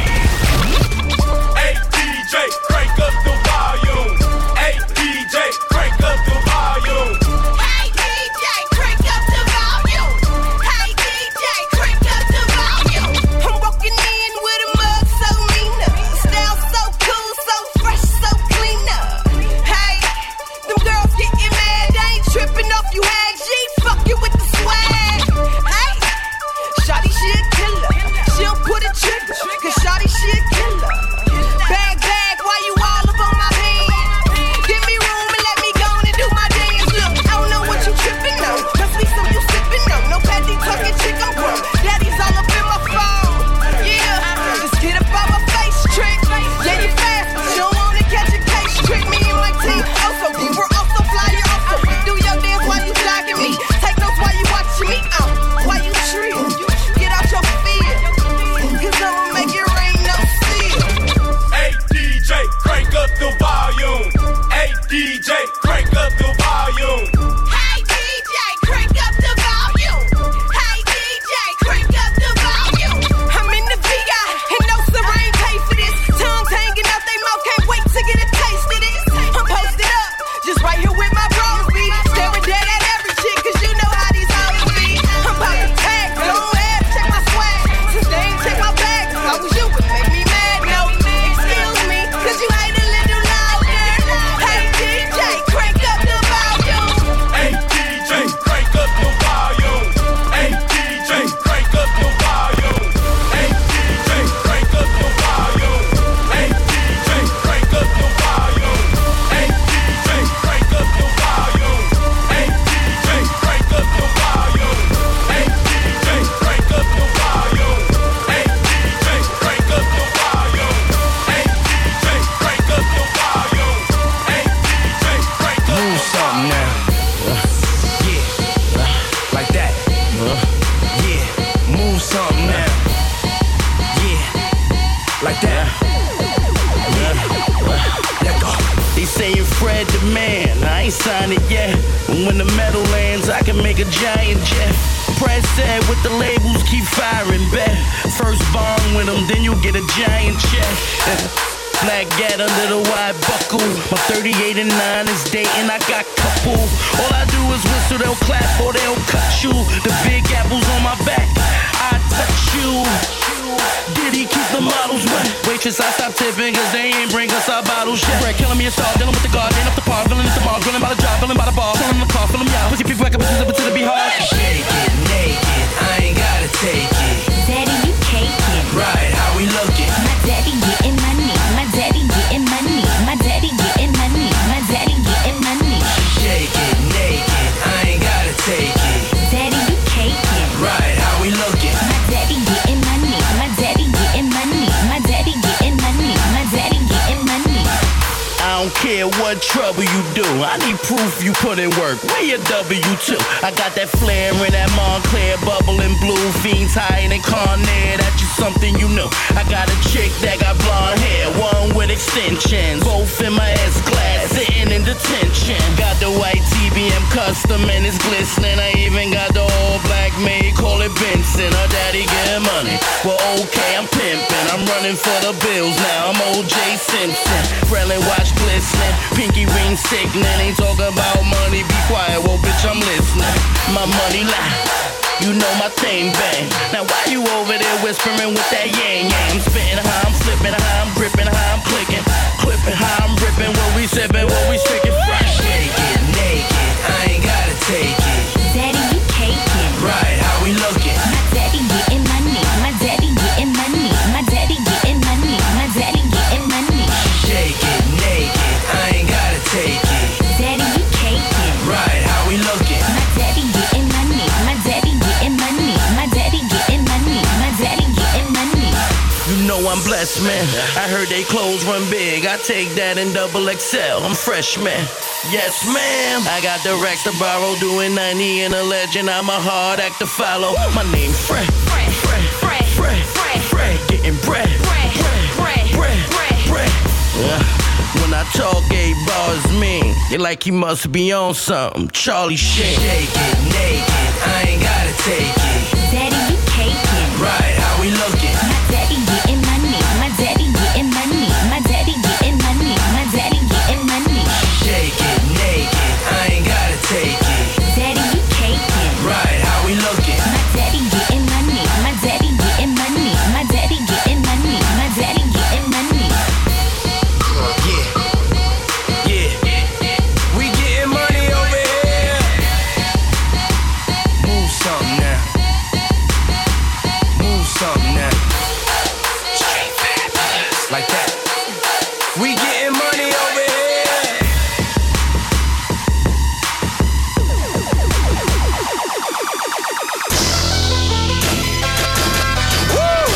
Hey DJ, crank up the volume. Hey DJ, crank up the volume. Hey DJ, crank up the volume. Hey DJ, crank up the volume. I'm walking in with a mug so meaner, style so cool, so fresh, so cleaner. Hey, them girls getting mad, they ain't tripping off you hag G, fuck you with the swag. Hey, shawty she a killer, she don't put a trigger, cause shawty she a killer. Bag, why you all up on my pants? Give me room and let me go on and do my dance. Look, I don't know what you tripping on, must be some you sipping on. No patty talking chick, I'm grown. Daddy's all up in my phone. Yeah, just get up on my face trick. Yeah, you fast, but you don't wanna catch a case trick. Me and my team, also deep, we're also fly, you're also do your dance while you jogging me. Take notes while you watching me. Why you trill? Get out your fear, cause I'ma make it rain, no seal. Hey DJ, crank up the volume. Hey DJ, crank up the volume. Hey DJ, crank up the volume. Hey DJ, crank up the volume. I'm in the VI and no serene pay for this. Tongues hanging out they mouth, can't wait to get a taste of this. I'm posted up, just right here with my bros be. Staring dead at every chick, cause you know how these hoes be. I'm about to tag, go ahead, check my swag. Since they ain't check my bag, if I was you, would make me mad. No, excuse me, cause you ain't a little louder. Hey DJ, crank up the volume. bet. When the metal lands, I can make a giant jet. Press said with the labels, keep firing, bet. First bond with them, then you get a giant check. Black gat under the wide buckle. My 38 and 9 is dating, I got couple. All I do is whistle, they'll clap or they'll cut you. The big apples on my back, I touch you. Did he keep the models wet? Waitress, I stopped tipping cause they ain't bring us our bottles yet. Bread killing me a star, dealing with the guard, ain't up the par, filling at the bar, grilling by the job, filling by the bar, filling in the car, filling me out. Pussy people wake up and up to the be hard. Shake it naked, I ain't gotta take it. Daddy, you caking. Right, how we looking? My daddy getting money. My daddy getting money. My daddy getting money. My daddy getting money. Shake it naked, I ain't gotta take it. Daddy, you caking. Right, how we looking? My daddy getting money. My daddy getting money. My daddy getting money. My daddy getting money. I don't care what trouble you do. I need proof you put in work. Where your W2? I got that flare in that Montclair, bubbling blue. Fiends higher than Carnair. That's just something you know. I got a chick that got blonde hair, one with extensions. Both in my S-Class, sitting in detention. Got the white TBM custom and it's glistening. I even got the all black maid, call it Benson. Her daddy getting money. Well, okay, I'm pimping. I'm running for the bills now. I'm O.J. Simpson. Relin' watch glistening, pinky ring sickening. Ain't talking about money, be quiet, well bitch I'm listening. My money lie, you know my thing bang. Now why you over there whispering with that yang yang? I'm spitting how I'm flipping, how I'm gripping, how I'm clicking, clipping, how I'm ripping, what we sipping, what we sticking. Shake it naked, I ain't gotta take it. Daddy, you caking. Right, how we looking? My daddy getting money. My daddy getting money. My daddy getting money. My daddy getting money. Shake it naked, I ain't gotta take it. Daddy, you caking. Right, how we looking? My daddy getting money. My daddy getting money. My daddy getting money. My daddy getting money. You know I'm blessed, man. I heard they clothes run big. I take that in double XL. I'm fresh, man. Yes, ma'am. I got the racks to borrow, doing 90 and a legend. I'm a hard act to follow. My name Fred. Fred. Getting bread. Bread. When I talk 8 bars mean, they like he must be on something. Charlie shit. Shake it naked, I ain't gotta take it. Daddy, you caking. Right, how we looking? My daddy getting money. My daddy getting money. My daddy getting money. My daddy getting money. Shake it naked, I ain't gotta take it. Daddy, you caking. Right, how we looking? My daddy getting money. My daddy getting money. My daddy getting money. My daddy getting money. Yeah. We getting money over here. Move something now. Straight fabulous. Like that. We getting money over here. Woo!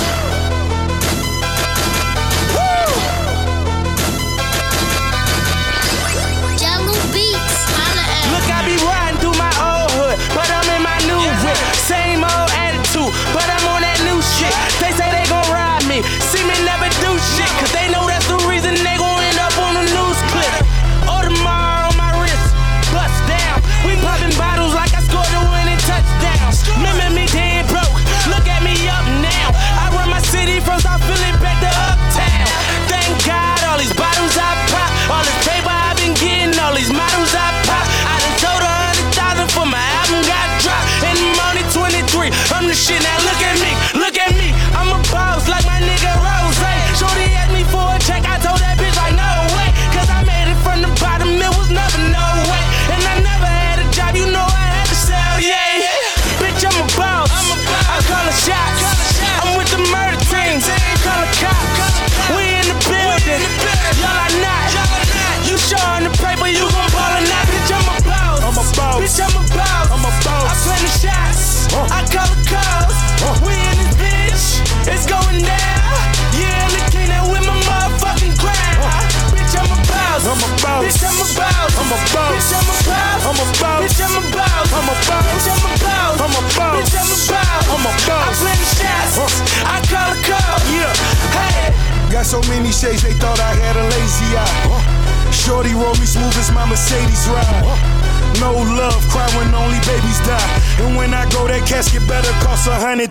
Jello Beats. Look, I be riding through my old hood, but I'm in my new whip. Same old attitude, but I'm on that new shit. They say they gon' ride me, see me never do shit, cause they know that's the reason they gon' end up on the news clip. Audemars on my wrist, bust down. We popping bottles like I scored a winning touchdown. Remember me dead broke, look at me up now. I run my city from South Philly back to Uptown. Thank God all these bottles I pop, all this paper I've been getting, all these models I pop. I done sold 100,000 for my album got dropped. And I'm only 23, I'm the shit, now look at me. I'm a boss like my nigga Rose. Shorty asked me for a check, I told that bitch like no way. Cause I made it from the bottom, it was never no way. And I never had a job, you know I had to sell, yeah. Bitch, I'm a boss, I call a shots. I'm with the murder team, call a cop. We in the building, y'all are not. You showing the paper, you gon' ball or not. Bitch, I'm a boss, bitch, I'm a boss. I play the shots, I call the calls. We in this bitch, it's going down. Yeah, the king that with my motherfucking crown. Bitch, I'm a boss, bitch, I'm a boss. Bitch, I'm a boss, bitch, I'm a boss. Bitch, I'm a boss, bitch, I'm a boss. I play the shots, I call the calls. Yeah, hey. Got so many shades, they thought I had a lazy eye. Shorty roll me smooth as my Mercedes ride. No love, cry when only babies die. And when I go, that casket better cost 100,000.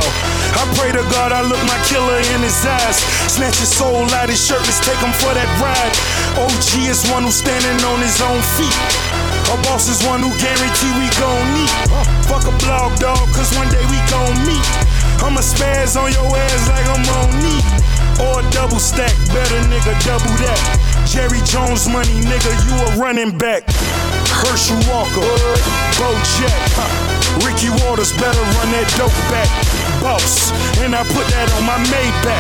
I pray to God I look my killer in his eyes. Snatch his soul out his shirt, let's take him for that ride. OG is one who's standing on his own feet. Our boss is one who guarantee we gon' meet. Fuck a blog, dog, cause one day we gon' meet. I'ma spaz on your ass like I'm on knee. Or a double stack, better nigga, double that. Jerry Jones money, nigga, you a running back. Herschel Walker, Bo Jack, Ricky Waters, better run that dope back. Boss, and I put that on my Maybach.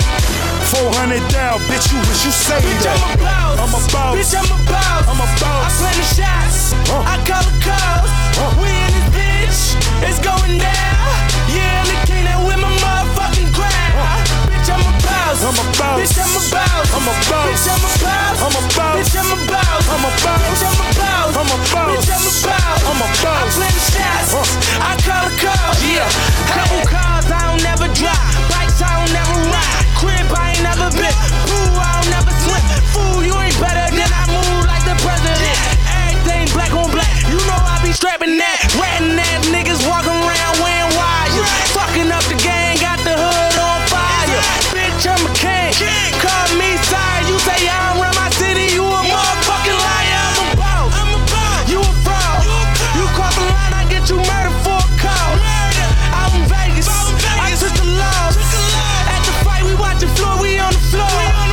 400 down, bitch, you wish you say that. I'm a boss. Bitch, I'm a boss. I'm a boss. I plan the shots. I call the calls. We in this bitch. It's going down. Yeah, the king that with my motherfucking crown. Bitch, I'm a boss. I'm a boss. Bitch, I'm a boss. I'm a boss. Bitch, I'm a boss. I'm a boss. Bitch, I'm a boss. I'm a boss. Bitch, I'm a boss. I'm a boss. Bitch, I'm a boss. I'm a boss. I plan the shots. I call the calls. Yeah. Couple cars I don't never drop. Bikes I don't never ride. Crib I ain't never been. Pool I don't never swim. Fool, you ain't better than I move like the president. Everything black on black. You know I be strapping that. Ratting ass niggas walking around wearing wires. Fucking up the gang, got the hood on fire. Bitch, I'm a king. Call me sire. You say I don't run my city. You a motherfucking liar. I'm a boss. You a fraud. You cross the line, I get you murdered for a call. Out in Vegas, I took the loss. At the fight, we watching floor, we on the floor.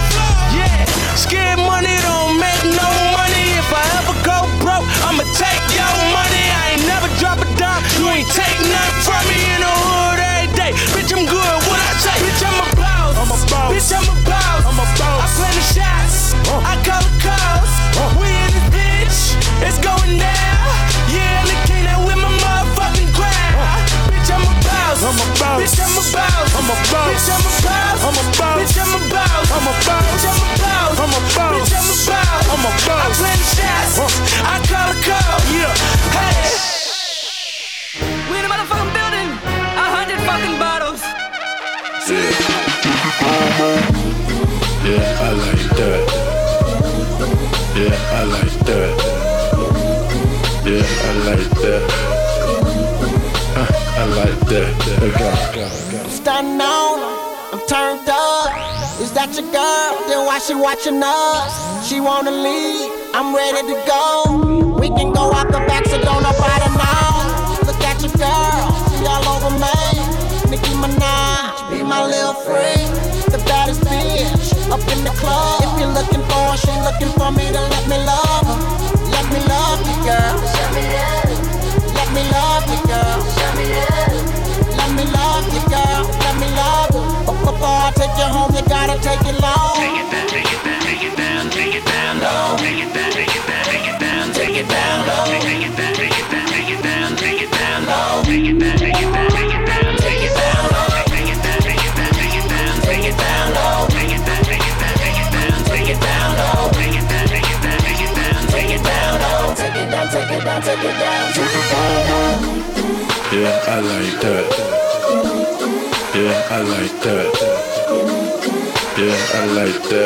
Yeah, scared money don't make no money. If I ever go broke, I'ma take your money. I ain't never drop a dime. You ain't take nothing from me in the hood every day. Bitch, I'm good. What I say? Bitch, I'm a boss. I'm a boss. Bitch, I'm a boss. I'm a boss. I plan the shots. I call the calls. We in this bitch. It's going down. Yeah, the king that with my motherfucking crown. Bitch, I'm a boss. I'm a boss. Bitch, I'm a boss. I'm a boss. Bitch, I'm a boss. I'm a boss. Bitch, I'm a boss. I'm a boss. Bitch, I'm a boss. I'm a boss. Bitch, I'm a boss. I'm a boss. I plan the shots. I call the call. Yeah. Hey. We in a motherfucking building. 100 fucking bottles. Yeah, I like that. Yeah, I like that. Yeah, I like that. I like that. Stunning on her, I'm turned up. Is that your girl? Then why she watching us? She wanna leave, I'm ready to go. We can go out the back, so don't nobody know. Look at your girl, she all over me. Nicki Minaj, be my little freak. The baddest bitch, up in the club. If you're looking for her, she looking for me, then let me love her. Let me love you, girl. Show me love. Let me love you, girl. Show me love. Let me love you, girl. Let me love you. But before I take you home, you gotta take it long. Take it down, take it down, take it down, take it down low. Take it down, take it down, take it down, take it down low. Take it down, take it down, take it down, take it down low. Take it down, take it down, take it down, take it down low. Take it down, take it down, take it down, take it down low. Take it down, take it down, take it down, take it down low. Take it down, take it down, take it down, take it down low. Take it down, take it down, take it down, take it down low. Yeah, I like that. Yeah, I like that. Yeah, I like that.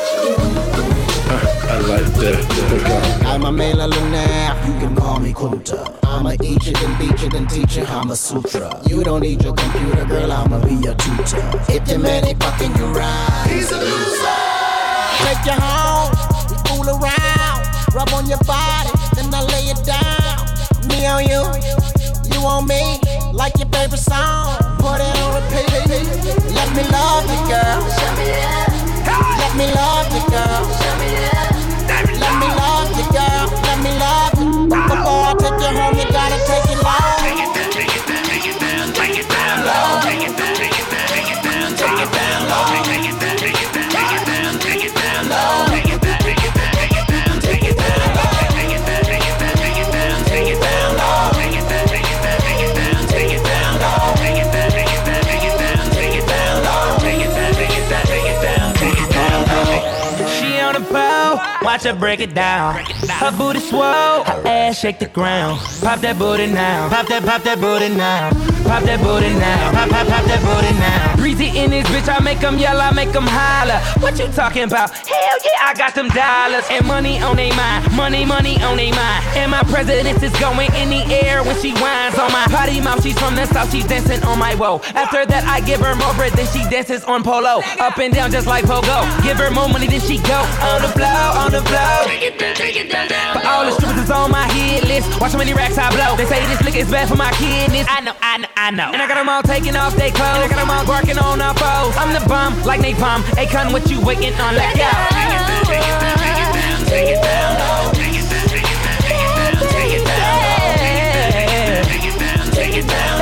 I like that. I'm a male lunaire, you can call me Kunta. I'ma eat you, then beat you, then teach you Kama Sutra. You don't need your computer, girl, I'ma be your tutor. If your man ain't fucking you right, he's a loser. Take you home, we fool around. Rub on your body, then I lay it down. Me on you, you on me, like your favorite song. Put it on repeat. Let me love you, girl. Show me love. Let me love you, girl. Show me love. Let me love you, girl. Let me love you. Before I take you home, you gotta take it long. Take it down, take it down, take it down, take it down low. Take it down, take it down, take it down, take it down low. Take it down, take it down, take it down, take it down low. Take it down, take it down, take it down, take it down low. Take it down, take it down, take it down, take it down low. Take it down, take it down, take it down, take it down low. Take it down, take it down, take it down, take it down low. Take it down, take it down, take it down, take it down low. She on the pole, watch her break it down. Her booty swole, her ass shake the ground. Pop that booty now, pop that booty now. Pop that booty now, pop that booty now. Breezy in this bitch, I make them yell, I make them holler. What you talking about? Hell yeah, I got them dollars. And money on they mind, money on they mind. And my president is going in the air when she whines on my potty mouth. She's from the south, she's dancing on my woe. After that, I give her more bread than she dances on polo. Up and down just like Pogo. Give her more money than she go. On the floor, on the floor. Take it down. For all the strippers is on my hit list. Watch how many racks I blow. They say this liquor is bad for my kidneys. I know. And I got them all taking off they clothes. And I got them all barking on our foes. I'm the bomb, like napalm. Akon, what you waiting on? Let go. Take it down. Take it down. Take it down. Take it down. Take it down. Take it down.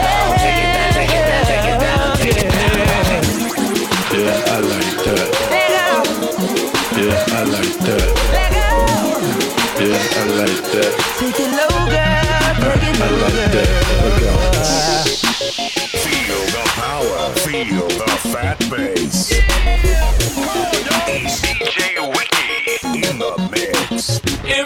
Yeah, I like that. Yeah, I like that. Yeah, I like that. Take it low, girl. Take it low, I like that. Feel the power. Feel the fat bass. It's DJ Wiki in the mix.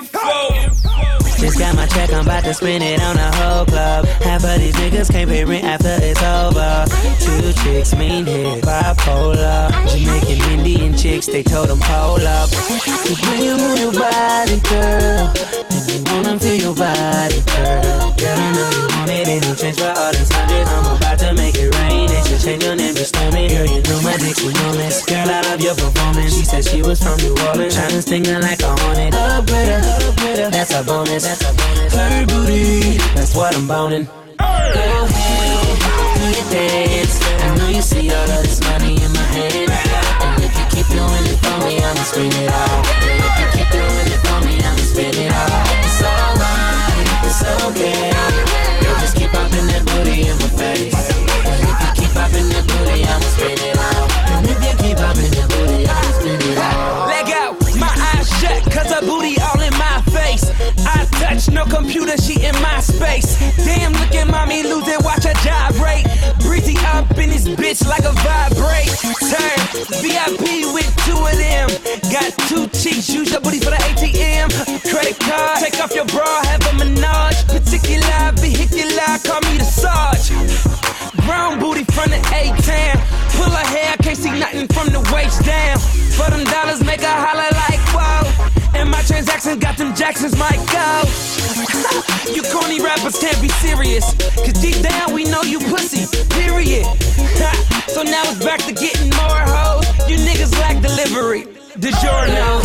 Just got my check, I'm about to spend it on the whole club. Half of these niggas can't pay rent after it's over. 2 chicks, mean hit, bipolar. Jamaican, Indian chicks, they told them pull up. So when you move your body, girl, and you wanna feel your body, girl. Girl, I know you want it, ain't no change for all this hundreds. I'm about to make it rain, they should change your name to Stormy. Girl, you know my dick's enormous. Girl, I love your performance. She said she was from New Orleans, tryna sting her like a hornet. Up with her, that's a bonus. Her booty, that's what I'm boning. Go ahead, do your dance. I know you see all of this money in my hand. And if you keep doing it for me, I'ma spend it all. And if you keep doing it for me, I'ma spend it all. It's alright, it's okay. Girl, just keep popping that booty in my face. And if you keep popping that booty, I'ma spend it all. And if you keep popping that booty, I'ma spend it all. Leg out, my eyes shut, cause her booty all in my face. I touch no computer, she in my space. Damn, look at mommy lose it, watch her gyrate. Breezy up in this bitch like a vibrate. Turn VIP with 2 of them. Got 2 cheeks, use your booty for the ATM. Credit card, take off your bra, have a menage. Particular, vehicular, call me the Sarge. Brown booty from the A-Town. Pull her hair, can't see nothing from the waist down. For them dollars, make her holler like whoa. And my transactions got them Jacksons, might go. You corny rappers can't be serious. Cause deep down we know you pussy, period. So now it's back to getting more hoes. You niggas lack delivery. DiGiorno.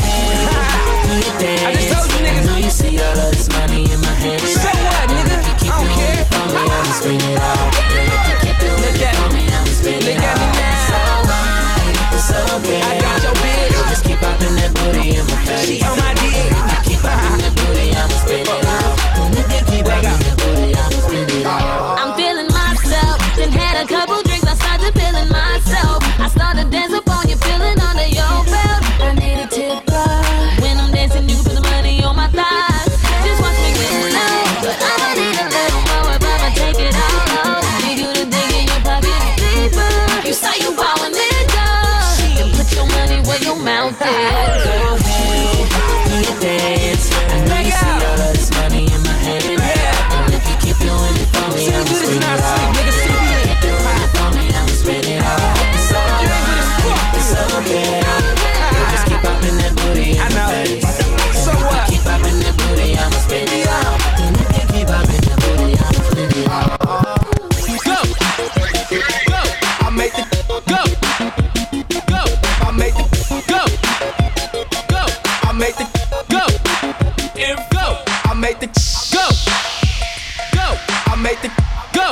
I just told you niggas. I know you see all of this money in my hand. So what, nigga? I don't care. I'ma spend it all. Look at me, I'ma spend it all. Look at me now. It's alright, it's okay. I got your bitch. Just keep popping that booty in my face. She on my dick. Keep popping that booty, I'ma spend it all. Keep popping that booty, I'ma spend it all. I'm feeling myself. Then had a couple drinks, I started feeling myself. I started dancing on you, feeling under your belt. I need a tipper. When I'm dancing, you can put the money on my thighs. Just watch me get low, but I'ma need a little more if I'ma take it all out. You do the thing in your pocket deeper. You say you ballin' it up. Then put your money where your mouth is. Go ahead, do your dance. I know you see all of this money in my hand. And if you keep doing it for me, I'ma spend it all. Keep doing it for me, I'ma spend it all. It's alright, it's okay. Just keep popping that booty in my face. So what? Keep popping that booty, I'ma spend it all. And if you keep popping that booty, I'ma spend it all. Go! Go! I make the go! Go! I make the go! Go! I make the go! And go! I make the go! Go! I make the go!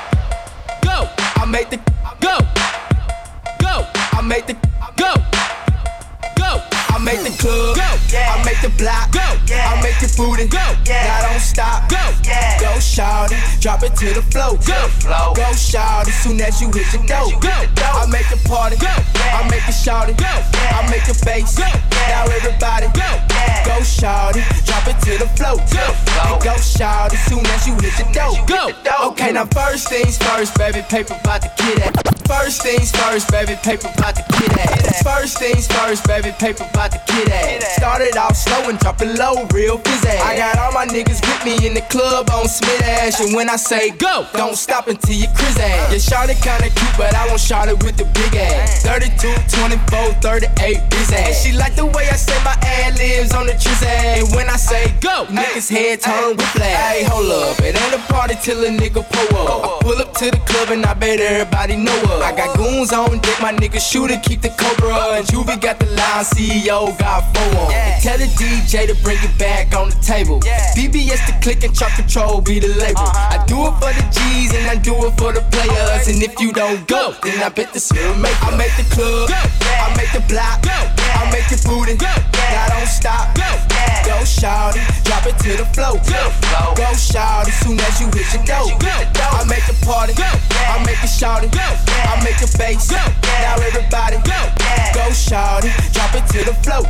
Go! I make the go! Go! I make the go! Go! I make the club go! I make the block go! I make the booty go! Now don't stop go! Go shawty, drop it to the flow. Go shout as soon as you hit the dough. I make the party, I make it shout it, I make the bass. Now everybody, go shout it, drop it to the flow. Go shout as soon as you hit the dough. Okay, now first things first, baby, paper about to get at. First things first, baby, paper about to get at. First things first, baby, paper about to get at. Started off slow and drop it low, real fizzy. I got all my niggas with me in the club on Smith Ash, and when I say go, don't stop until you crazy. Yeah, shot it kinda cute, but I won't shot it with the big ass. 32, 24, 38, busy. And she like the way I say my ad libs on the trizzy. And when I say go, niggas head turn with flag. Hey, hold up, it ain't a party till a nigga pull up. I pull up to the club and I bet everybody know up. I got goons on deck, my nigga shooter keep the Cobra. And Juvie got the line, CEO got 4 on. Tell the DJ to bring it back on the table. BBS the click and truck control be the label. I do it for the G's and I do it for the players. And if you don't go, then I bet the spirit make. I make the club, I make the block, I make your booty. Now don't stop, go shout it, drop it to the flow. Go shout as soon as you hit your dough. I make the party, I make it shout it, I make the bass. Now everybody, go shout it, drop it to the flow.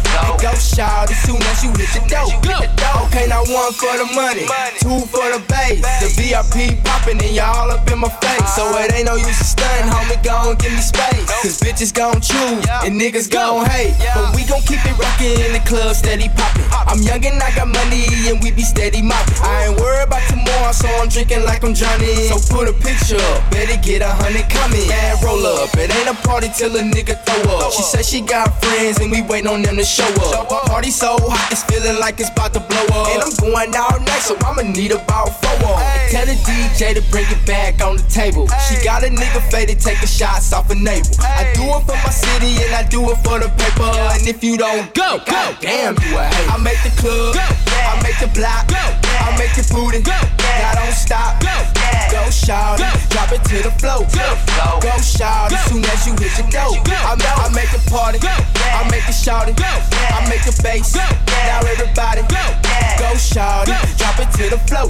Go shout as soon as you hit your dough. Okay, now 1 for the money, 2 for the bass. The VIP poppin' and y'all up in my face. So it ain't no use to stun, homie, gon' give me space. Cause bitches gon' choose and niggas gon' hate. But we gon' keep it rockin' in the club, steady poppin'. I'm young and I got money and we be steady moppin'. I ain't worried about tomorrow, so I'm drinking like I'm Johnny. So put a picture up, better get 100 coming. Yeah, roll up, it ain't a party till a nigga throw up. She said she got friends and we wait on them to show up. Party so hot, it's feeling like it's about to blow up. And I'm going out night, so I'ma need about 4 on. Tell the DJ to bring it back on the table. She got a nigga faded, taking shots off a navel. I do it for my city and I do it for the paper. And if you don't go, damn you a hater. I make the club, I make the block, I make your booty. Now don't stop, go shout it, drop it to the flow. Go shout as soon as you hit your dough. I make the party, I make it shout it, I make the bass. Now everybody, go shout it, drop it to the flow.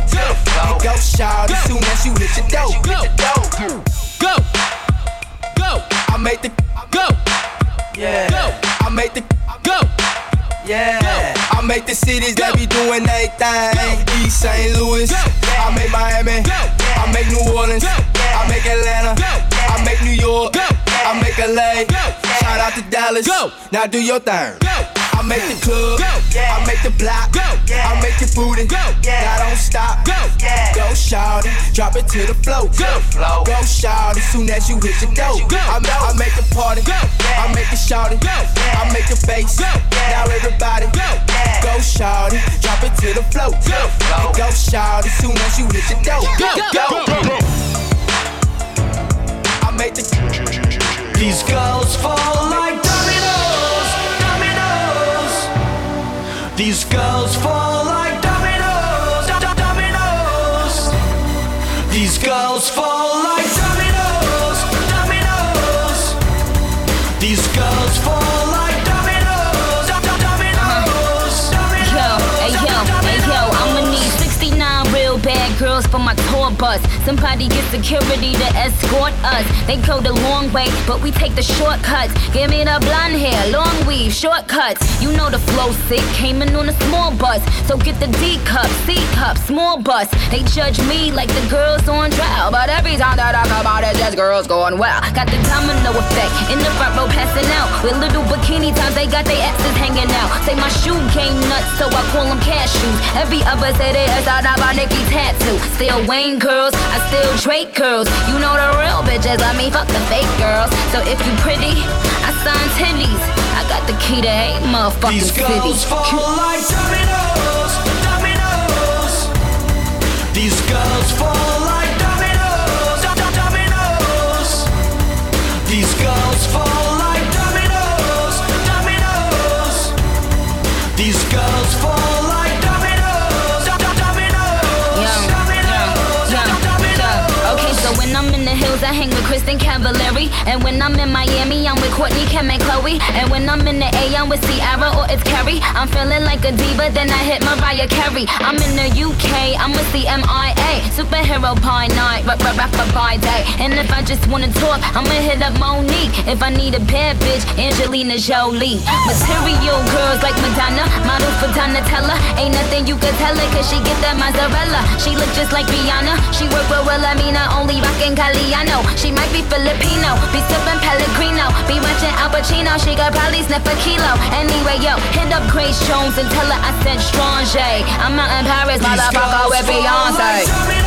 Go shout as soon as you hit your dough. Go, I make the go, I make the go. I make the cities that be doing everything. East St. Louis, I make Miami, I make New Orleans, I make Atlanta, I make New York, I make LA. Shout out to Dallas, now do your thing. I make the club, I make the block, I make your booty. Now don't stop, go shout it, drop it to the flow. Go shout as soon as you hit your dough. I make the party, I make it shout it, I make the bass. Now everybody, go shout it, drop it to the flow. Go shout as soon as you hit your dough. Go. I make the. These girls fall like dominoes, dominoes. These girls fall like dominoes, dominoes. These girls fall like dominoes, dominoes. These girls fall like dominoes, dominoes. Yo, I'ma need 69 real bad girls for my tour bus. Somebody get security to escort us. They go the long way, but we take the shortcuts. Give me the blonde hair, long weave, shortcuts. You know the flow sick, came in on a small bus. So get the D cup, C cup, small bus. They judge me like the girls on trial, but every time that I come out, it's just girls going wild. Got the domino effect, in the front row passing out. With little bikini times, they got their asses hanging out. Say my shoe game nuts, so I call them cashews. Every other say they is out by Nicki tattoo. Still Wayne girls, I still Drake girls. You know the real bitches let me fuck the fake girls. So if you pretty, I sign titties. I got the key to 8 motherfucking cities. These girls fall like dominoes, dominoes. These girls fall like dominoes, dominoes. These girls fall like dominoes, dominoes. These girls fall like dominoes, dominoes. Okay, so when I'm in the hills, I hang with Kristen Cavallari. And when I'm in Miami, I'm with Courtney, Kim, and Chloe. And when I'm in the A, I'm with Ciara or it's Carrie. I'm feeling like a diva, then I hit Mariah Carey. I'm in the UK, I'm with CMIA. superhero by night, rapper by day. And if I just wanna talk, I'ma hit up Monique. If I need a bad bitch, Angelina Jolie. Material girls like Madonna, model for Donatella. Ain't nothing you could tell her, cause she get that mozzarella. She look just like Rihanna, she work with Wilhelmina, only rockin' Galliano. She might be Filipino, be sippin' Pellegrino, be watching Al Pacino, she could probably sniff a kilo. Anyway, yo, hit up Grace Jones and tell her I said Strange. I'm out in Paris, motherfucker, with Beyonce.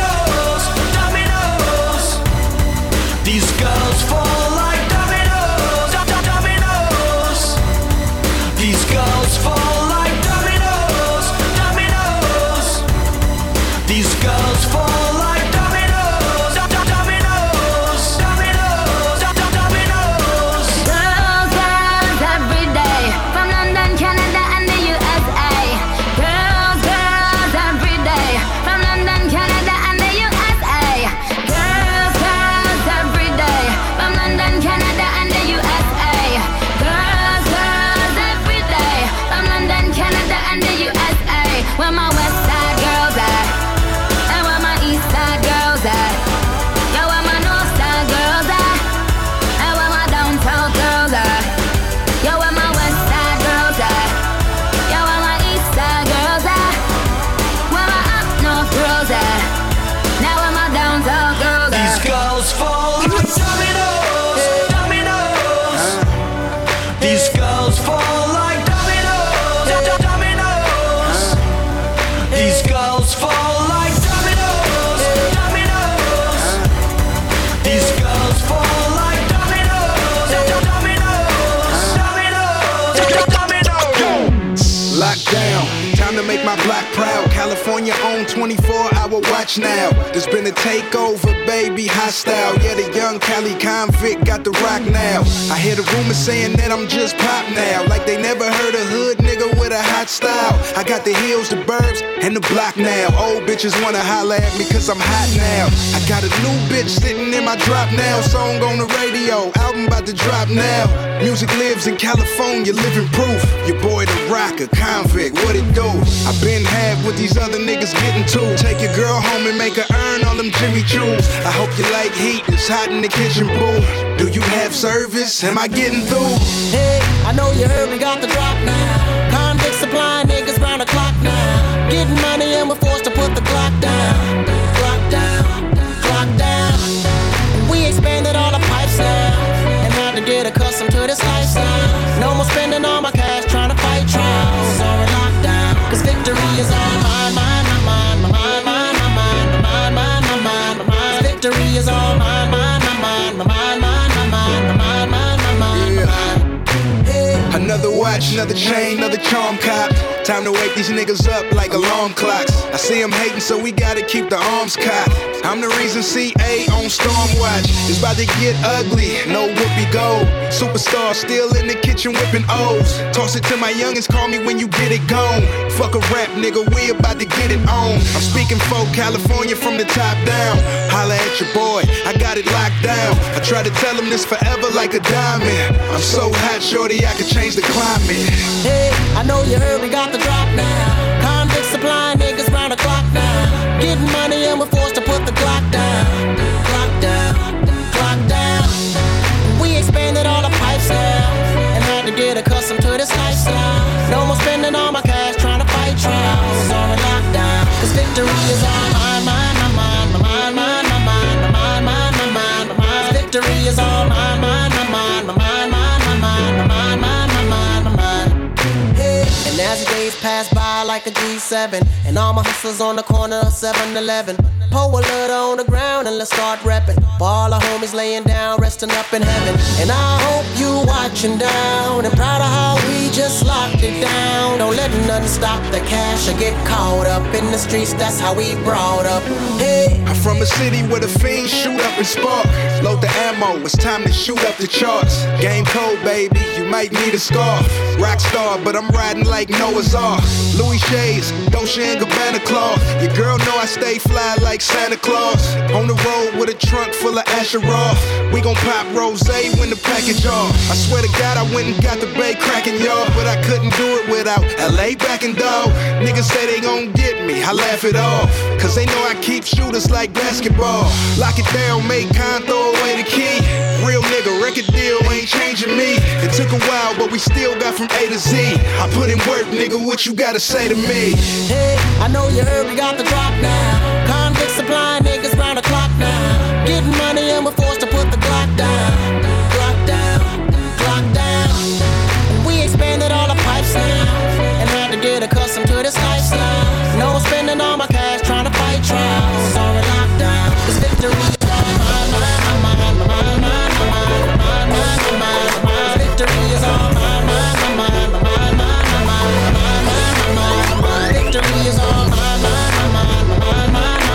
These girls fall like dominoes, dominoes. These girls fall like dominoes, dominoes. These girls fall like dominoes, dominoes, dominoes, dominoes. Girls, girls, every day, from London, Canada, and the USA. Girls, girls, every day, from London, Canada, and the USA. Girls, girls, every day, from London, Canada, and the USA. Girls, girls, every day, from London, Canada, and the USA. Where my West Side girls at? And where my East Side girls at? Yo, where my North Side girls at? And where my downtown girls at? Yo, where my West Side girls at? Yo, where my East Side girls at? Where my up north girls at? Now where my downtown girls at? These girls fall like dominoes, dominoes. These girls fall like dominoes, dominoes. These girls fall like dominoes, dominoes. These girls fall like dominoes, dominoes, dominoes. Lockdown, time to make my block proud. California own 24-hour watch now. There's been a takeover, baby, hostile. Yeah, the young Cali convict got the rock now. I hear the rumors saying that I'm just pop now, like they never heard a hood nigga with a hot style. I got the hills, the burbs, and the block now. Old bitches wanna holler at me cause I'm hot now. I got a new bitch sitting in my drop now. Song on the radio, album about to drop now. Music lives in California, living proof. Your boy the rocker, convict, what it do? I been had what these other niggas getting to. Take your girl home and make her earn all them Jimmy Choos. I hope you like heat, it's hot in the kitchen, boo. Do you have service? Am I getting through? Hey, I know you heard we got the drop now. Convict supplying niggas round the clock now. Getting money and we're forced to put the clock down. Clock down, clock down. We expanded all the pipes now and had to get accustomed to this lifestyle. No more spending all my cash trying to fight trials or a lockdown. Cause victory is all mine, mine, mine, mine, mine, mine, mine, mine, mine, mine, mine, mine. Victory is all mine, mine, mine, mine, mine, mine, mine, mine, mine, mine, mine, mine. Another watch, another chain, another charm cop. Time to wake these niggas up like alarm clocks. I see them hating, so we gotta keep the arms cocked. I'm the reason CA on Stormwatch. It's about to get ugly, no whoopee gold. Superstar still in the kitchen whipping O's. Toss it to my youngins, call me when you get it gone. Fuck a rap, nigga, we about to get it on. I'm speaking for California from the top down. Holla at your boy, I got it locked down. I try to tell him this forever like a diamond. I'm so hot, shorty, I could change the climate. Hey, I know you heard we got the drop now. Convict supplying niggas round the clock now. Getting money and we're forced to put the clock down. Clock down, clock down. We expanded all the pipes now and had to get accustomed to this lifestyle. No more spending all my cash trying to fight trials or a lockdown. Cause victory is all mine, mine, mine, mine, mine, mine, mine, mine, mine, mine, mine, mine. Victory is all mine, mine, mine, mine, mine, mine, mine, mine, mine, mine, mine, mine. And as the days pass by like a G7, and all my hustlers on the corner of 7-Eleven, pour a little on the ground and let's start reppin'. For all our homies laying down, resting up in heaven. And I hope you watching down and proud of how we just locked it down. Don't let nothing stop the cash or get caught up in the streets, that's how we brought up. Hey, I'm from a city where the fiends shoot up and spark. Load the ammo, it's time to shoot up the charts. Game cold, baby, you might need a scarf. Rockstar, but I'm riding like Noah's Ark. Louis Shades, Dolce & Gabbana cloth. Your girl know I stay fly like Santa Claus. On the road with a trunk full of Asheroth. We gon' pop rosé when the package off. I swear to God, I went and got the bay cracking, y'all. But I couldn't do it without LA backing, dog. Niggas say they gon' get me. me, I laugh it off. Cause they know I keep shooters like basketball. Lock it down, make con, throw away the key. Real nigga, record deal ain't changing me. It took a while, but we still got from A to Z. I put in work, nigga, what you gotta say to me? Hey, I know you heard we got the drop now. Convict supply niggas round the clock now. Getting money and we're forced to put the Glock down. Glock down, Glock down. We expanded all the pipes now and had to get accustomed to this lifestyle. No spending all my cash trying to fight trials. On lockdown, this victory. Victory is on my mind, my mind, my mind, my mind, my mind. Victory is on my mind, my mind, my mind,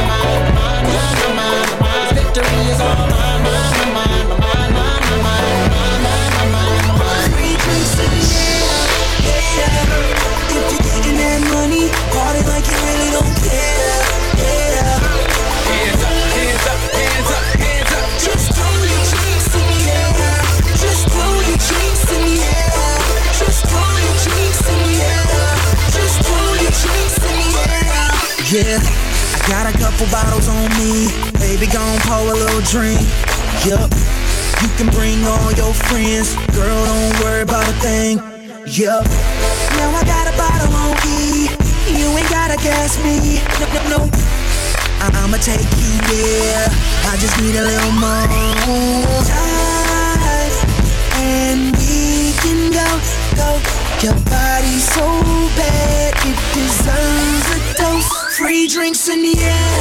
my mind. Victory is on my mind, my mind, my mind, my mind. Free drinks in the air, yeah. If you're getting that money, party like you really don't care, yeah. Hands up, hands up, hands up, hands up. Just throw your drinks in the air. Just throw your drinks in the air. Just throw your drinks in the air. Just throw your drinks in the air. Yeah, I got a couple bottles on me. Baby, gon' pour a little drink. Yup, you can bring all your friends. Girl, don't worry about a thing. Yup, now I got a bottle on E. You ain't gotta gas me. No, no, no. I'ma take you there. I just need a little more time, and we can go. Your body's so bad, it deserves a dose. Free drinks in the air,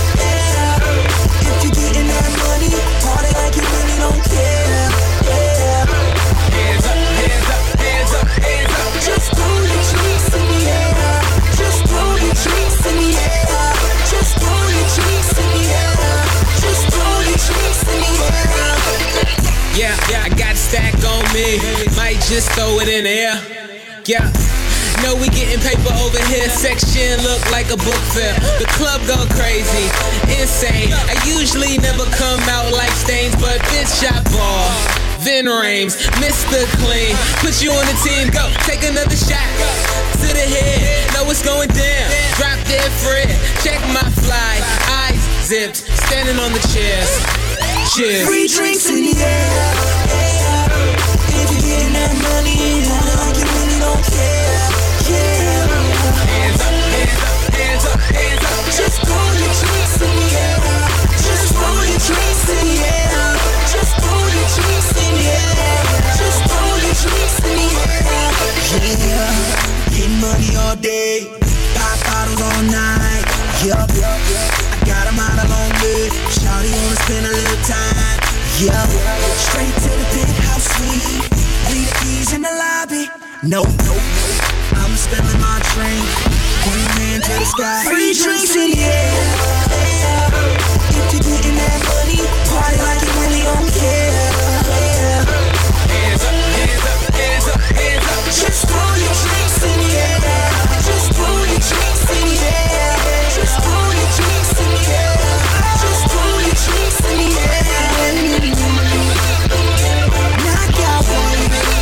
yeah. If you're getting that money, party like you really don't care, yeah. Hands up, hands up, hands up, hands up. Just throw your drinks in the air. Just throw your drinks in the air. Just throw your drinks in the air. Just throw your drinks in the air. Yeah, I got a stack on me. Might just throw it in the air. Yeah, know we getting paper over here. Section look like a book fair. The club go crazy, insane. I usually never come out like stains, but this shot ball. Vin Rames, Mr. Clean. Put you on the team, go. Take another shot. To the head, know what's going down. Drop dead Fred, check my fly. Eyes zipped, standing on the chairs. Cheers. Free drinks in the air, yeah. If you're getting that money, like you really don't care, yeah. Hands up, hands up, hands up, hands up. Just throw your drinks in the air. Just throw your drinks in the air. Just throw your drinks in the air. Just throw your drinks in the air. Yeah, getting money all day, pop bottles all night. Yup, I got 'em out of Long Beach. Shawty wanna spend a little time. Yup, straight to the penthouse suite. Leave the keys in the lobby. Nope, I'm spilling my drink. Point man to the sky. Free drinks in the air. If you're getting that money, party like you really don't care. Hands up, hands up, hands up, hands up. Just throw your drinks in the air. Just throw your drinks in the air. Just throw your drinks in the air. Just throw your drinks in the air. Knock out one.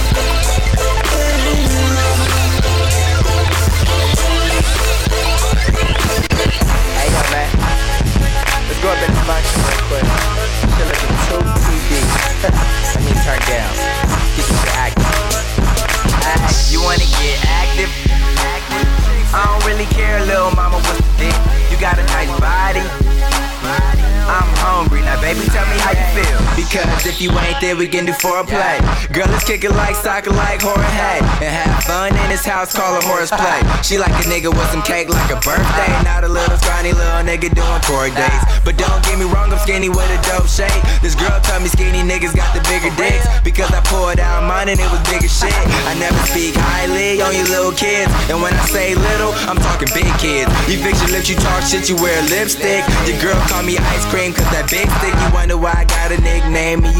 Hey yo man, let's go up in the function real quick. Shit looking too PD. Let me turn down. Get some shit active. You wanna get active? I don't really care, little mama, what's the dick? You got a nice body. I'm hungry, now baby tell me how you feel. Because if you ain't there, we can do foreplay. Girl, let's kick it like soccer, like horror hay. And have fun in this house, call it horse play. She like a nigga with some cake like a birthday. Not a little scrawny little nigga doing tour days. But don't get me wrong, I'm skinny with a dope shape. This girl told me skinny niggas got the bigger dicks. Because I poured out mine and it was bigger shit. I never speak highly on you little kids. And when I say little, I'm talking big kids. You fix your lips, you talk shit, you wear lipstick. Your girl call me ice cream cause that big stick. You wonder why I got a nickname and you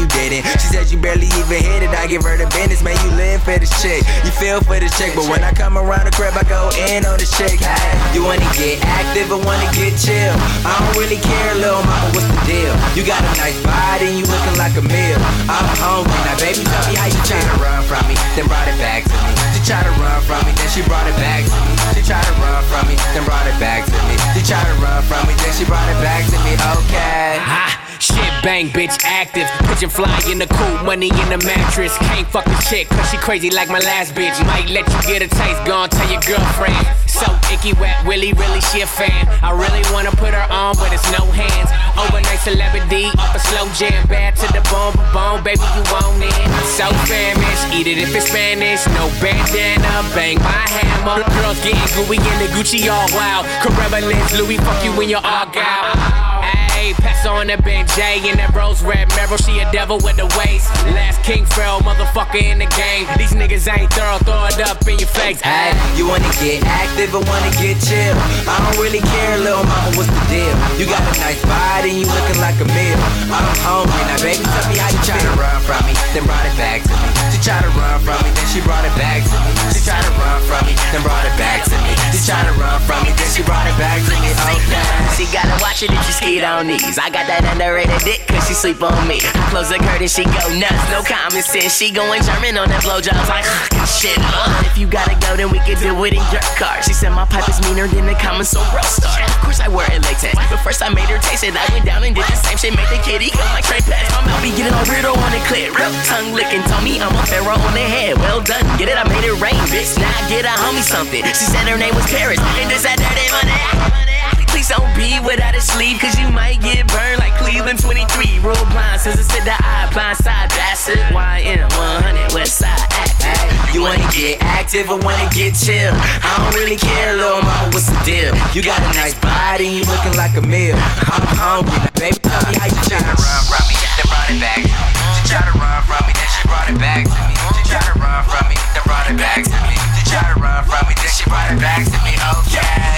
you didn't. She said you barely even hit it, I give her the business. Man, you live for this chick, you feel for this chick. But when I come around the crib, I go in on this chick. Hey, you wanna get active or wanna get chill? I don't really care, little mama, what's the deal? You got a nice body and you looking like a meal. I'm hungry, now baby, tell me how you try to run from me, then brought it back to me. She tried to run from me, then she brought it back to me. She tried to run from me, then brought it back to me. She tried to run from me, then she brought it back to me. Okay. Shit bang, bitch active. Pigeon fly in the cool, money in the mattress. Can't fuck the chick, cause she crazy like my last bitch. Might let you get a taste, gon' tell your girlfriend. So icky, wet, Willy, really, she a fan. I really wanna put her on, but it's no hands. Overnight celebrity, off a slow jam. Bad to the bone, baby, you want it. So famished, eat it if it's Spanish. No bandana, bang my hammer. Girls getting gooey in the Gucci all wild. Carrera lens, Louis, fuck you when you're all gal. Hey, pass on the Ben J in that rose red Meryl, she a devil with the waist. Last King Pharaoh, motherfucker in the game. These niggas ain't thorough, throw it up in your face. Hey, you wanna get active or wanna get chill? I don't really care, little mama, what's the deal? You got a nice body and you looking like a meal. I'm hungry, now baby, tell me how you try to run from me, then brought it back to me. She tried to run from me, then she brought it back to me. She tried to run from me, then brought it back to me. She tried to run from me, then she brought it back to me. Okay. She gotta watch it if she skate on knees. I got that underrated dick cause she sleep on me. I close the curtain, she go nuts, no common sense. She going German on that blowjobs like shit. If you gotta go, then we can do it in your car. She said my pipe is meaner than the common soul star. Of course I wear it latex, but first I made her taste it. I went down and did the same shit, made the kitty go like Trey Pets. My mouth be getting all weirdo on the clip, real tongue licking. Told me I'm a pharaoh on the head. Well done, get it? I made it rain, bitch. Now I get a homie something. She said her name was Paris, and this that dirty money. Please don't be without a sleeve, cause you might get burned like Cleveland 23. Roll blind, scissors to the eye, blind side, that's it. YM 100, West Side Act. Hey, you wanna get active or wanna get chill? I don't really care, little mama, what's the deal? You got a nice body and you looking like a meal. I'm hungry, now baby, tell me how you try to run from me, then brought it back to me. She tried to run from me, then she brought it back to me. She tried to run from me, then brought it back to me. She tried to run from me, then she brought it back to me. Okay.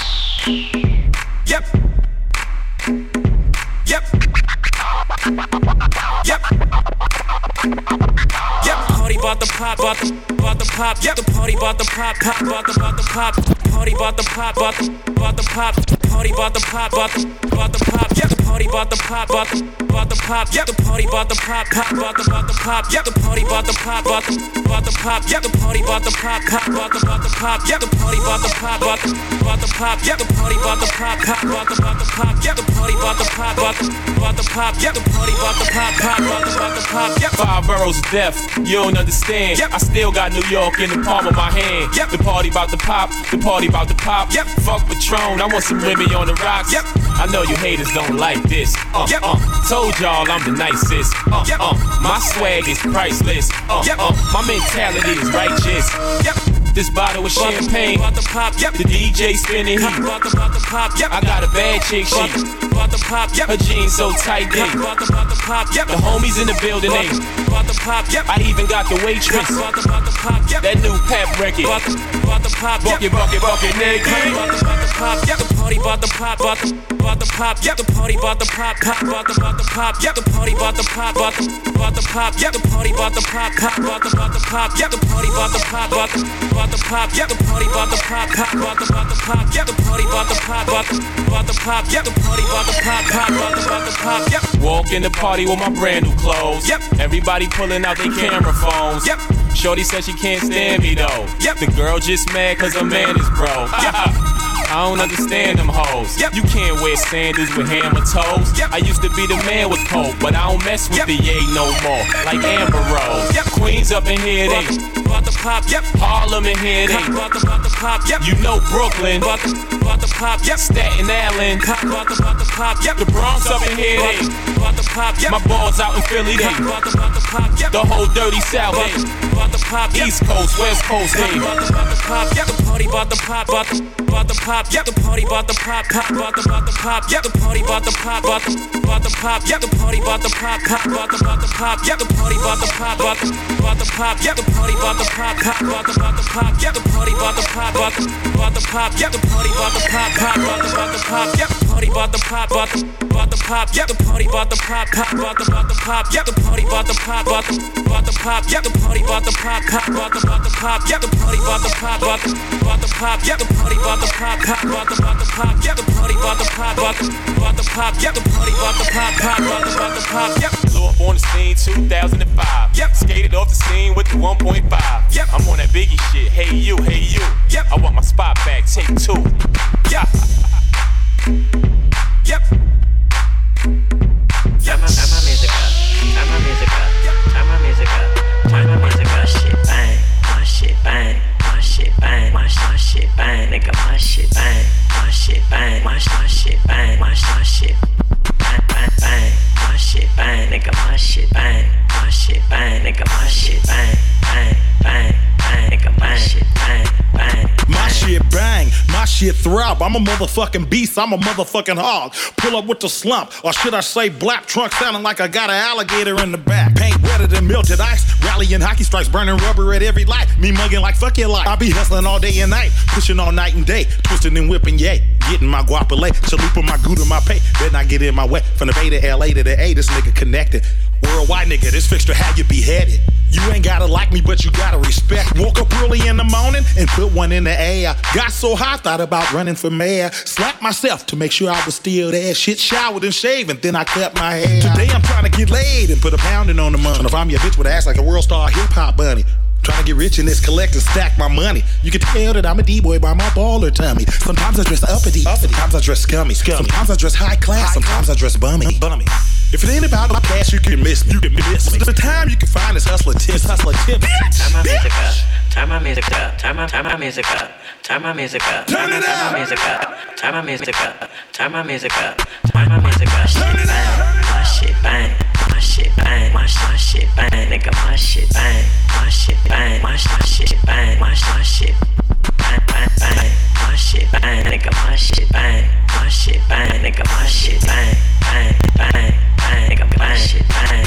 Yep. Yep. Yep. Yep. Party bout the pop, bout the pop. Yep. The party bout the pop, bout the pop. Party bout the pop, bout the pop. Party bout the pop, bout the pop. Yep. The party bout the pop, bout the pop. Yep. The party bout the pop, bout the pop. Yep. The party bout the pop, bout the pop. Yep. The party bout the pop, bout the pop. Yep. The party bout the pop, bout the pop. Yep. The party bout the pop, bout the pop. Yep. The party bout the pop, bout the pop. Yep. The party bout the pop, bout the pop. Yep. 5 boroughs of death, you don't understand. Yep. I still got New York in the palm of my hand. Yep. The party bout the pop, the party bout the pop. Yep. Fuck Patron, I want some Remy on the rocks. Yep. I know you haters don't like this. Told y'all I'm the nicest. My swag is priceless. My mentality is righteous. This bottle of champagne, the DJ spinning heat. I got a bad chick, she her jeans so tight, they the homies in the building, they I even got the waitress, that new pep record, bucket, nigga. The party bout the pop, bout the pop. The party bout the pop, bout the pop. The party bout the pop, bout the pop. The party bout the pop, bout the pop. The party bout the pop, bout the pop. The party bout the pop, bout the pop. The party bout the pop, bout the pop. The party bout the pop, bout the pop. Walk in the party with my brand new clothes. Everybody pulling out their camera phones. Shorty said she can't stand me though. The girl just mad cause her man is broke. I don't understand them hoes. You can't wear sandals with hammer toes. I used to be the man with coke, but I don't mess with the yay no more. Like Amber Rose. Queens up in here, they Harlem in here, they you know Brooklyn, Staten Island, the Bronx up in here, they my balls out in Philly, they the whole dirty South, they about to pop. East Coast, West Coast, hey. About to pop. The party about to pop. About to pop. The party about to pop. About to pop. The party about to pop. About to pop. The party about to pop. About to pop. The party about to pop. About to pop. The party about to pop. About to pop. The party about to pop. About to pop. The party about to pop. About to pop. The party about to pop. About to pop. The party about to pop. About to pop. The party about to pop. About to pop. The party about to pop. About to pop. The party about to pop. About to pop. The party about to pop. About to pop. The party about to pop. About to pop. The party about to pop. About to pop. Blew up on the scene 2005. Skated off the scene with the 1.5. I'm on that Biggie shit. Hey you, hey you. I want my spot back. Take 2. Yeah. Yep. Turn my music up. Turn my music up. Turn my music up. Turn my music up. Shit bang. My shit bang. My shit bang. My shit bang. Nigga, my shit bang. My shit bang. My shit bang. My shit bang bang bang. My shit bang. Nigga, my shit bang. My shit bang. Nigga, my shit bang. Bang bang bang. Nigga, my shit bang bang. My shit bang, my shit throb. I'm a motherfucking beast, I'm a motherfucking hog. Pull up with the slump, or should I say black trunk sounding like I got an alligator in the back. Paint wetter than melted ice, rallying hockey strikes, burning rubber at every light. Me mugging like fuck your life. I be hustling all day and night, pushing all night and day, twisting and whipping, yay. Getting my guapole, chalupa my gouda, my pay. Better not get in my way. From the Bay to LA to the A, this nigga connected. Worldwide nigga, this fixture how you beheaded. You ain't gotta like me, but you gotta respect. Woke up early in the morning and put one in the air. Got so high, thought about running for mayor. Slapped myself to make sure I was still there. Shit showered and shaved, and then I cut my hair. Today I'm trying to get laid and put a pounding on the money. Trying to find me a bitch with an ass like a world star hip hop bunny. Trying to get rich in this collect and stack my money. You can tell that I'm a D-boy by my baller tummy. Sometimes I dress uppity, sometimes I dress scummy. Sometimes I dress high class, sometimes I dress bummy. If it ain't about my cash, you can miss me. The time you can find is hustler tips. Turn my music up. Turn my music up. Turn my music up. Turn my music up. Turn it up. Turn my music up. Turn my music up. Turn my music up. Turn my music up. Shit bang. My shit bang. My shit bang. My shit bang. Nigga, my shit bang. My shit bang. My shit bang. My shit bang bang bang. My shit bang. Nigga, my shit bang. My shit bang. Nigga, my shit bang. Bang bang bang. Nigga, my shit bang.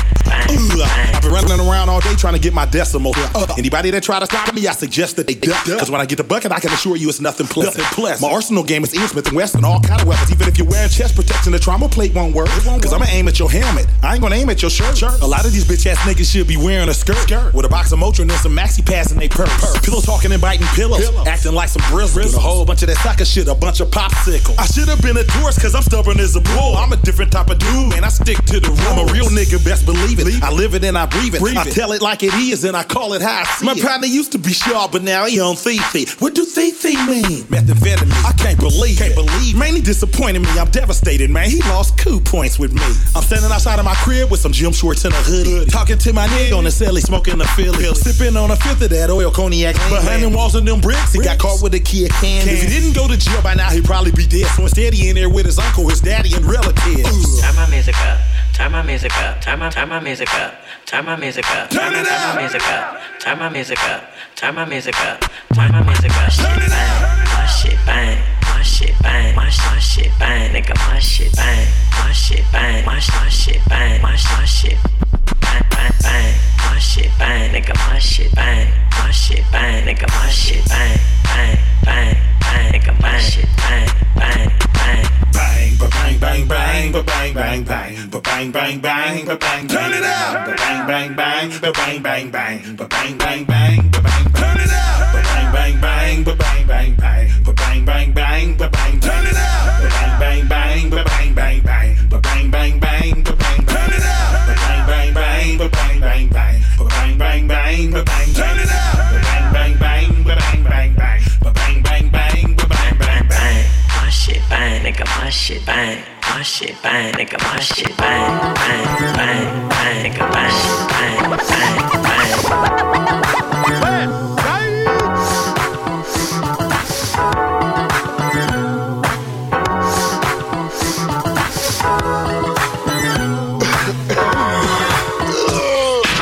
I've been running around all day trying to get my decimal. Anybody that try to stop me, I suggest that they duck. Cause when I get the bucket, I can assure you it's nothing pleasant. My arsenal game is Ian Smith and Wesson, all kind of weapons. Even if you're wearing chest protection, the trauma plate won't work. Cause I'ma aim at your helmet. I ain't gonna aim at your shirt. A lot of these bitch ass niggas should be wearing a skirt with a box of Motrin and some maxi pads in they purse. Pillow talking and biting pillows, acting like some brizzles. A whole bunch of that sucker shit, a bunch of popsicles. I should have been a tourist cause I'm stubborn as a bull. I'm a different type of dude, man. I stick to the rule. I'm a real nigga, best believe it. I live it and I breathe it. I tell it like it is and I call it how I see it. My partner used to be sharp, but now he on Fifi. What do Fifi mean? Methamphetamine. I can't believe it. Man, he disappointed me. I'm devastated, man. He lost 2 points with me. I'm standing outside of my crib with some gym shorts and a hoodie. Talking to my nigga on the celly, smoking a Philly. Sipping on a fifth of that oil cognac. Behind them walls and them bricks, he got caught with a key of candy. If he didn't go to jail by now, he'd probably be dead. So instead, he in there with his uncle, his daddy, and relatives. Turn my music up. Turn my music up. Turn my music up. Turn my music up. Turn it up. Turn my music up. Turn my music up. Turn my music up. Turn my music up. Shit bang. My shit bang. My shit bang. My shit bang. Nigga, my shit bang. My shit bang. My shit bang. My shit bang bang bang. My shit bang. Nigga, my shit bang. My shit bang. Nigga, my shit bang. Bang bang bang. Nigga, my shit bang. Bang bang. Bang, ba bang, bang, bang, ba bang, bang, bang, ba bang, bang, bang, ba bang. Turn it up. Ba bang, bang, bang, ba bang, bang, bang, ba bang, bang, bang, ba bang. Turn it up. Ba bang, bang, bang, ba bang, bang, bang, ba bang, bang, bang, ba bang. Turn it up. Ba bang, bang, bang, ba bang, bang, bang, ba bang, bang, bang, ba bang. Turn it up. Ba bang, bang, bang, ba bang, bang, bang, ba bang, bang, bang, ba bang. Turn it up. Ba bang, bang, bang, ba bang, bang, bang, ba bang, bang, bang, ba bang, bang, bang. My shit bang, nigga, my shit bang. My shit bang, nigga, my shit bang. Bang, bang, bang, nigga, my shit bang. Bang, bang.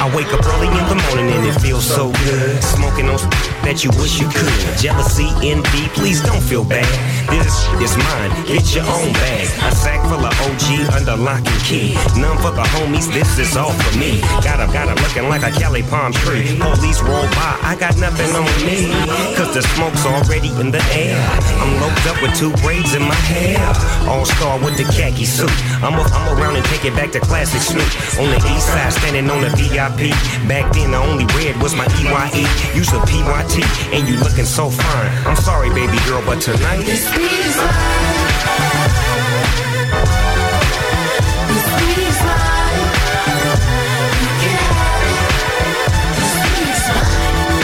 I wake up early in the morning and it feels so good. Smoking on that you wish you could. Jealousy, envy, please don't feel bad. This is mine, get your own bag. A sack full of OG under lock and key. None for the homies, this is all for me. Got a looking like a Cali palm tree. Police roll by, I got nothing on me. Cause the smoke's already in the air. I'm loped up with 2 braids in my hair. All-star with the khaki suit. I'm around and take it back to classic Snoop. On the east side, standing on the VIP. Back then, the only red was my EYE. Use a PYT, and you looking so fine. I'm sorry, baby girl, but tonight this beat is mine. This beat is mine. You can have it. This beat is mine.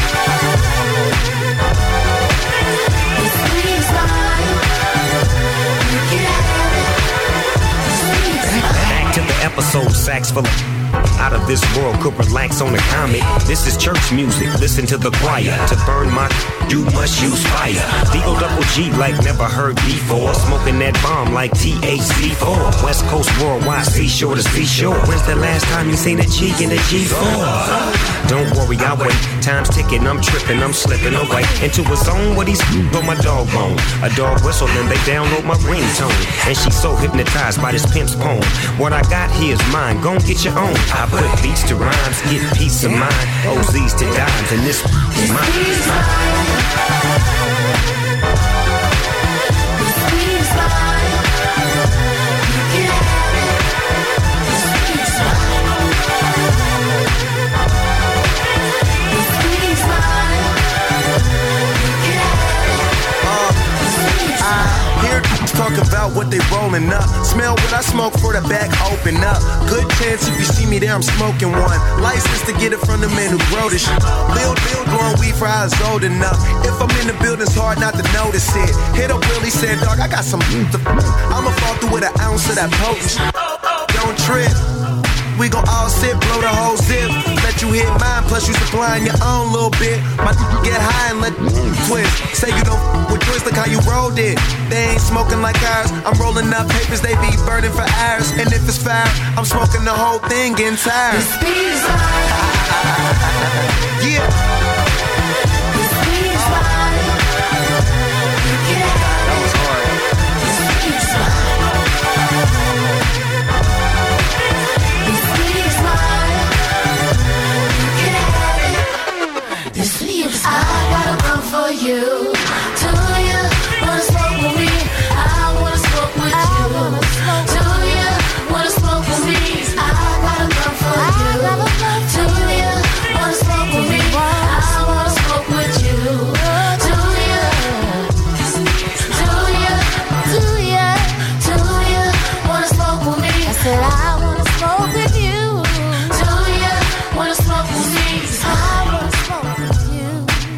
This beat is mine. You can have it. This beat is mine. Back to the episode, sax full of out of this world, could relax on a comic. This is church music, listen to the choir. To burn my, you must use fire. D-O-double-G like never heard before. Smoking that bomb like THC4. West Coast worldwide, seashore to seashore. When's the last time you seen a G in a G4? Don't worry, I'll wait. Time's ticking, I'm tripping, I'm slipping away into a zone where these on my dog bone. A dog whistle, then they download my ringtone. And she's so hypnotized by this pimp's poem. What I got here is mine, gon' get your own. I put beats to rhymes, get peace of mind. OZs to dimes, and this is mine. This beat is mine. You can have it. This beat is mine. This beat is mine. You can have it. This beat is mine. Hear talk about what they rolling up. Smell what I smoke for the back open up. Good chance if you see me there, I'm smoking one. License to get it from the man who grow this shit. Bill, growing weed for I was old enough. If I'm in the building, it's hard not to notice it. Hit up Willie, said, dog, I got some I'ma fall through with an ounce of that potent shit. Don't trip. We gon' all sit, blow the whole zip. Let you hit mine, plus you supplying your own little bit. My get high and let twist. Say you don't with twist, look how you rolled it. They ain't smoking like ours. I'm rolling up papers, they be burning for hours. And if it's fire, I'm smoking the whole thing, getting tired. This beat is mine. Yeah. This beat is mine. You can have it. That was hard. This beat is mine. I got a run for you. Do you wanna smoke with me? I wanna smoke with you. Do you wanna smoke with me? I got a run for you. Do you wanna smoke with me? I wanna smoke with you. Do you? Do you? Do you? Do you wanna smoke with me? I said I wanna smoke with you. Do you wanna smoke with me? I wanna smoke with you.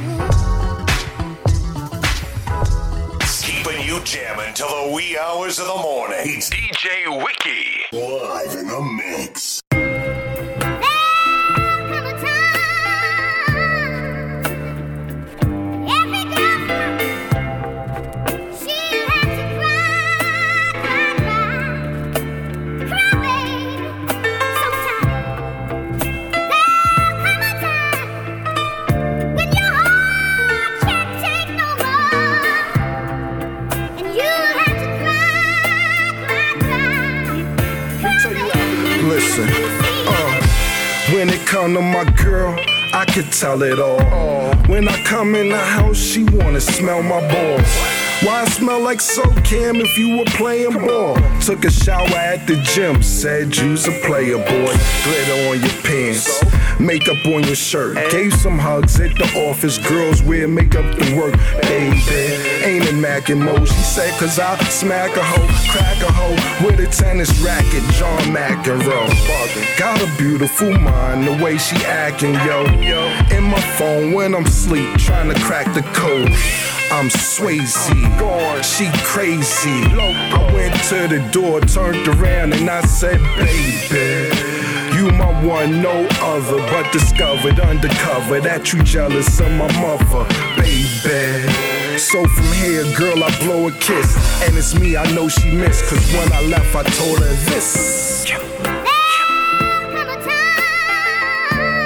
You jamming till the wee hours of the morning. It's DJ Wiki. Live in the mix. When it come to my girl, I could tell it all. When I come in the house, she wanna smell my balls. Why I smell like Soap Cam if you were playing ball? Took a shower at the gym, said you's a player boy. Glitter on your pants, makeup on your shirt. Gave some hugs at the office, girls wear makeup to work. Baby, ain't a Mac and Mo. She said cause I smack a hoe, crack a hoe with a tennis racket, John McEnroe. Got a beautiful mind, the way she acting, yo. In my phone when I'm asleep, trying to crack the code. I'm Swayze, she crazy. I went to the door, turned around and I said, baby, you my one, no other. But discovered undercover that you jealous of my mother, baby. So from here, girl, I blow a kiss. And it's me I know she missed, cause when I left I told her this.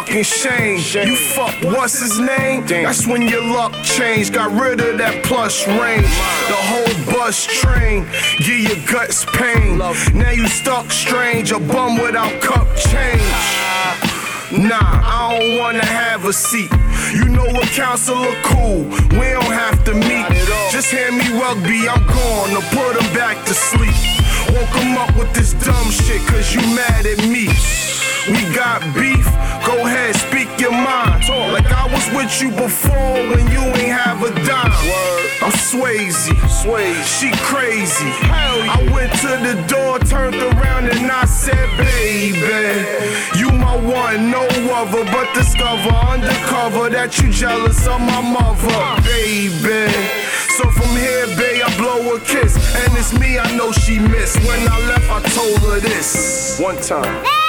fucking shame. You fuck, what's his name? That's when your luck changed. Got rid of that plush range. The whole bus train, give your guts pain. Now you stuck strange, a bum without cup change. Nah, I don't wanna have a seat. You know what counselor cool, we don't have to meet. Just hand me rugby, I'm gone to put him back to sleep. Woke him up with this dumb shit cause you mad at me. We got beef, go ahead, speak your mind. Like I was with you before when you ain't have a dime. I'm Swayze, she crazy. I went to the door, turned around and I said, baby, you my one, no other, but discover undercover that you jealous of my mother, baby. So from here, babe, I blow a kiss, and it's me I know she missed. When I left, I told her this one time.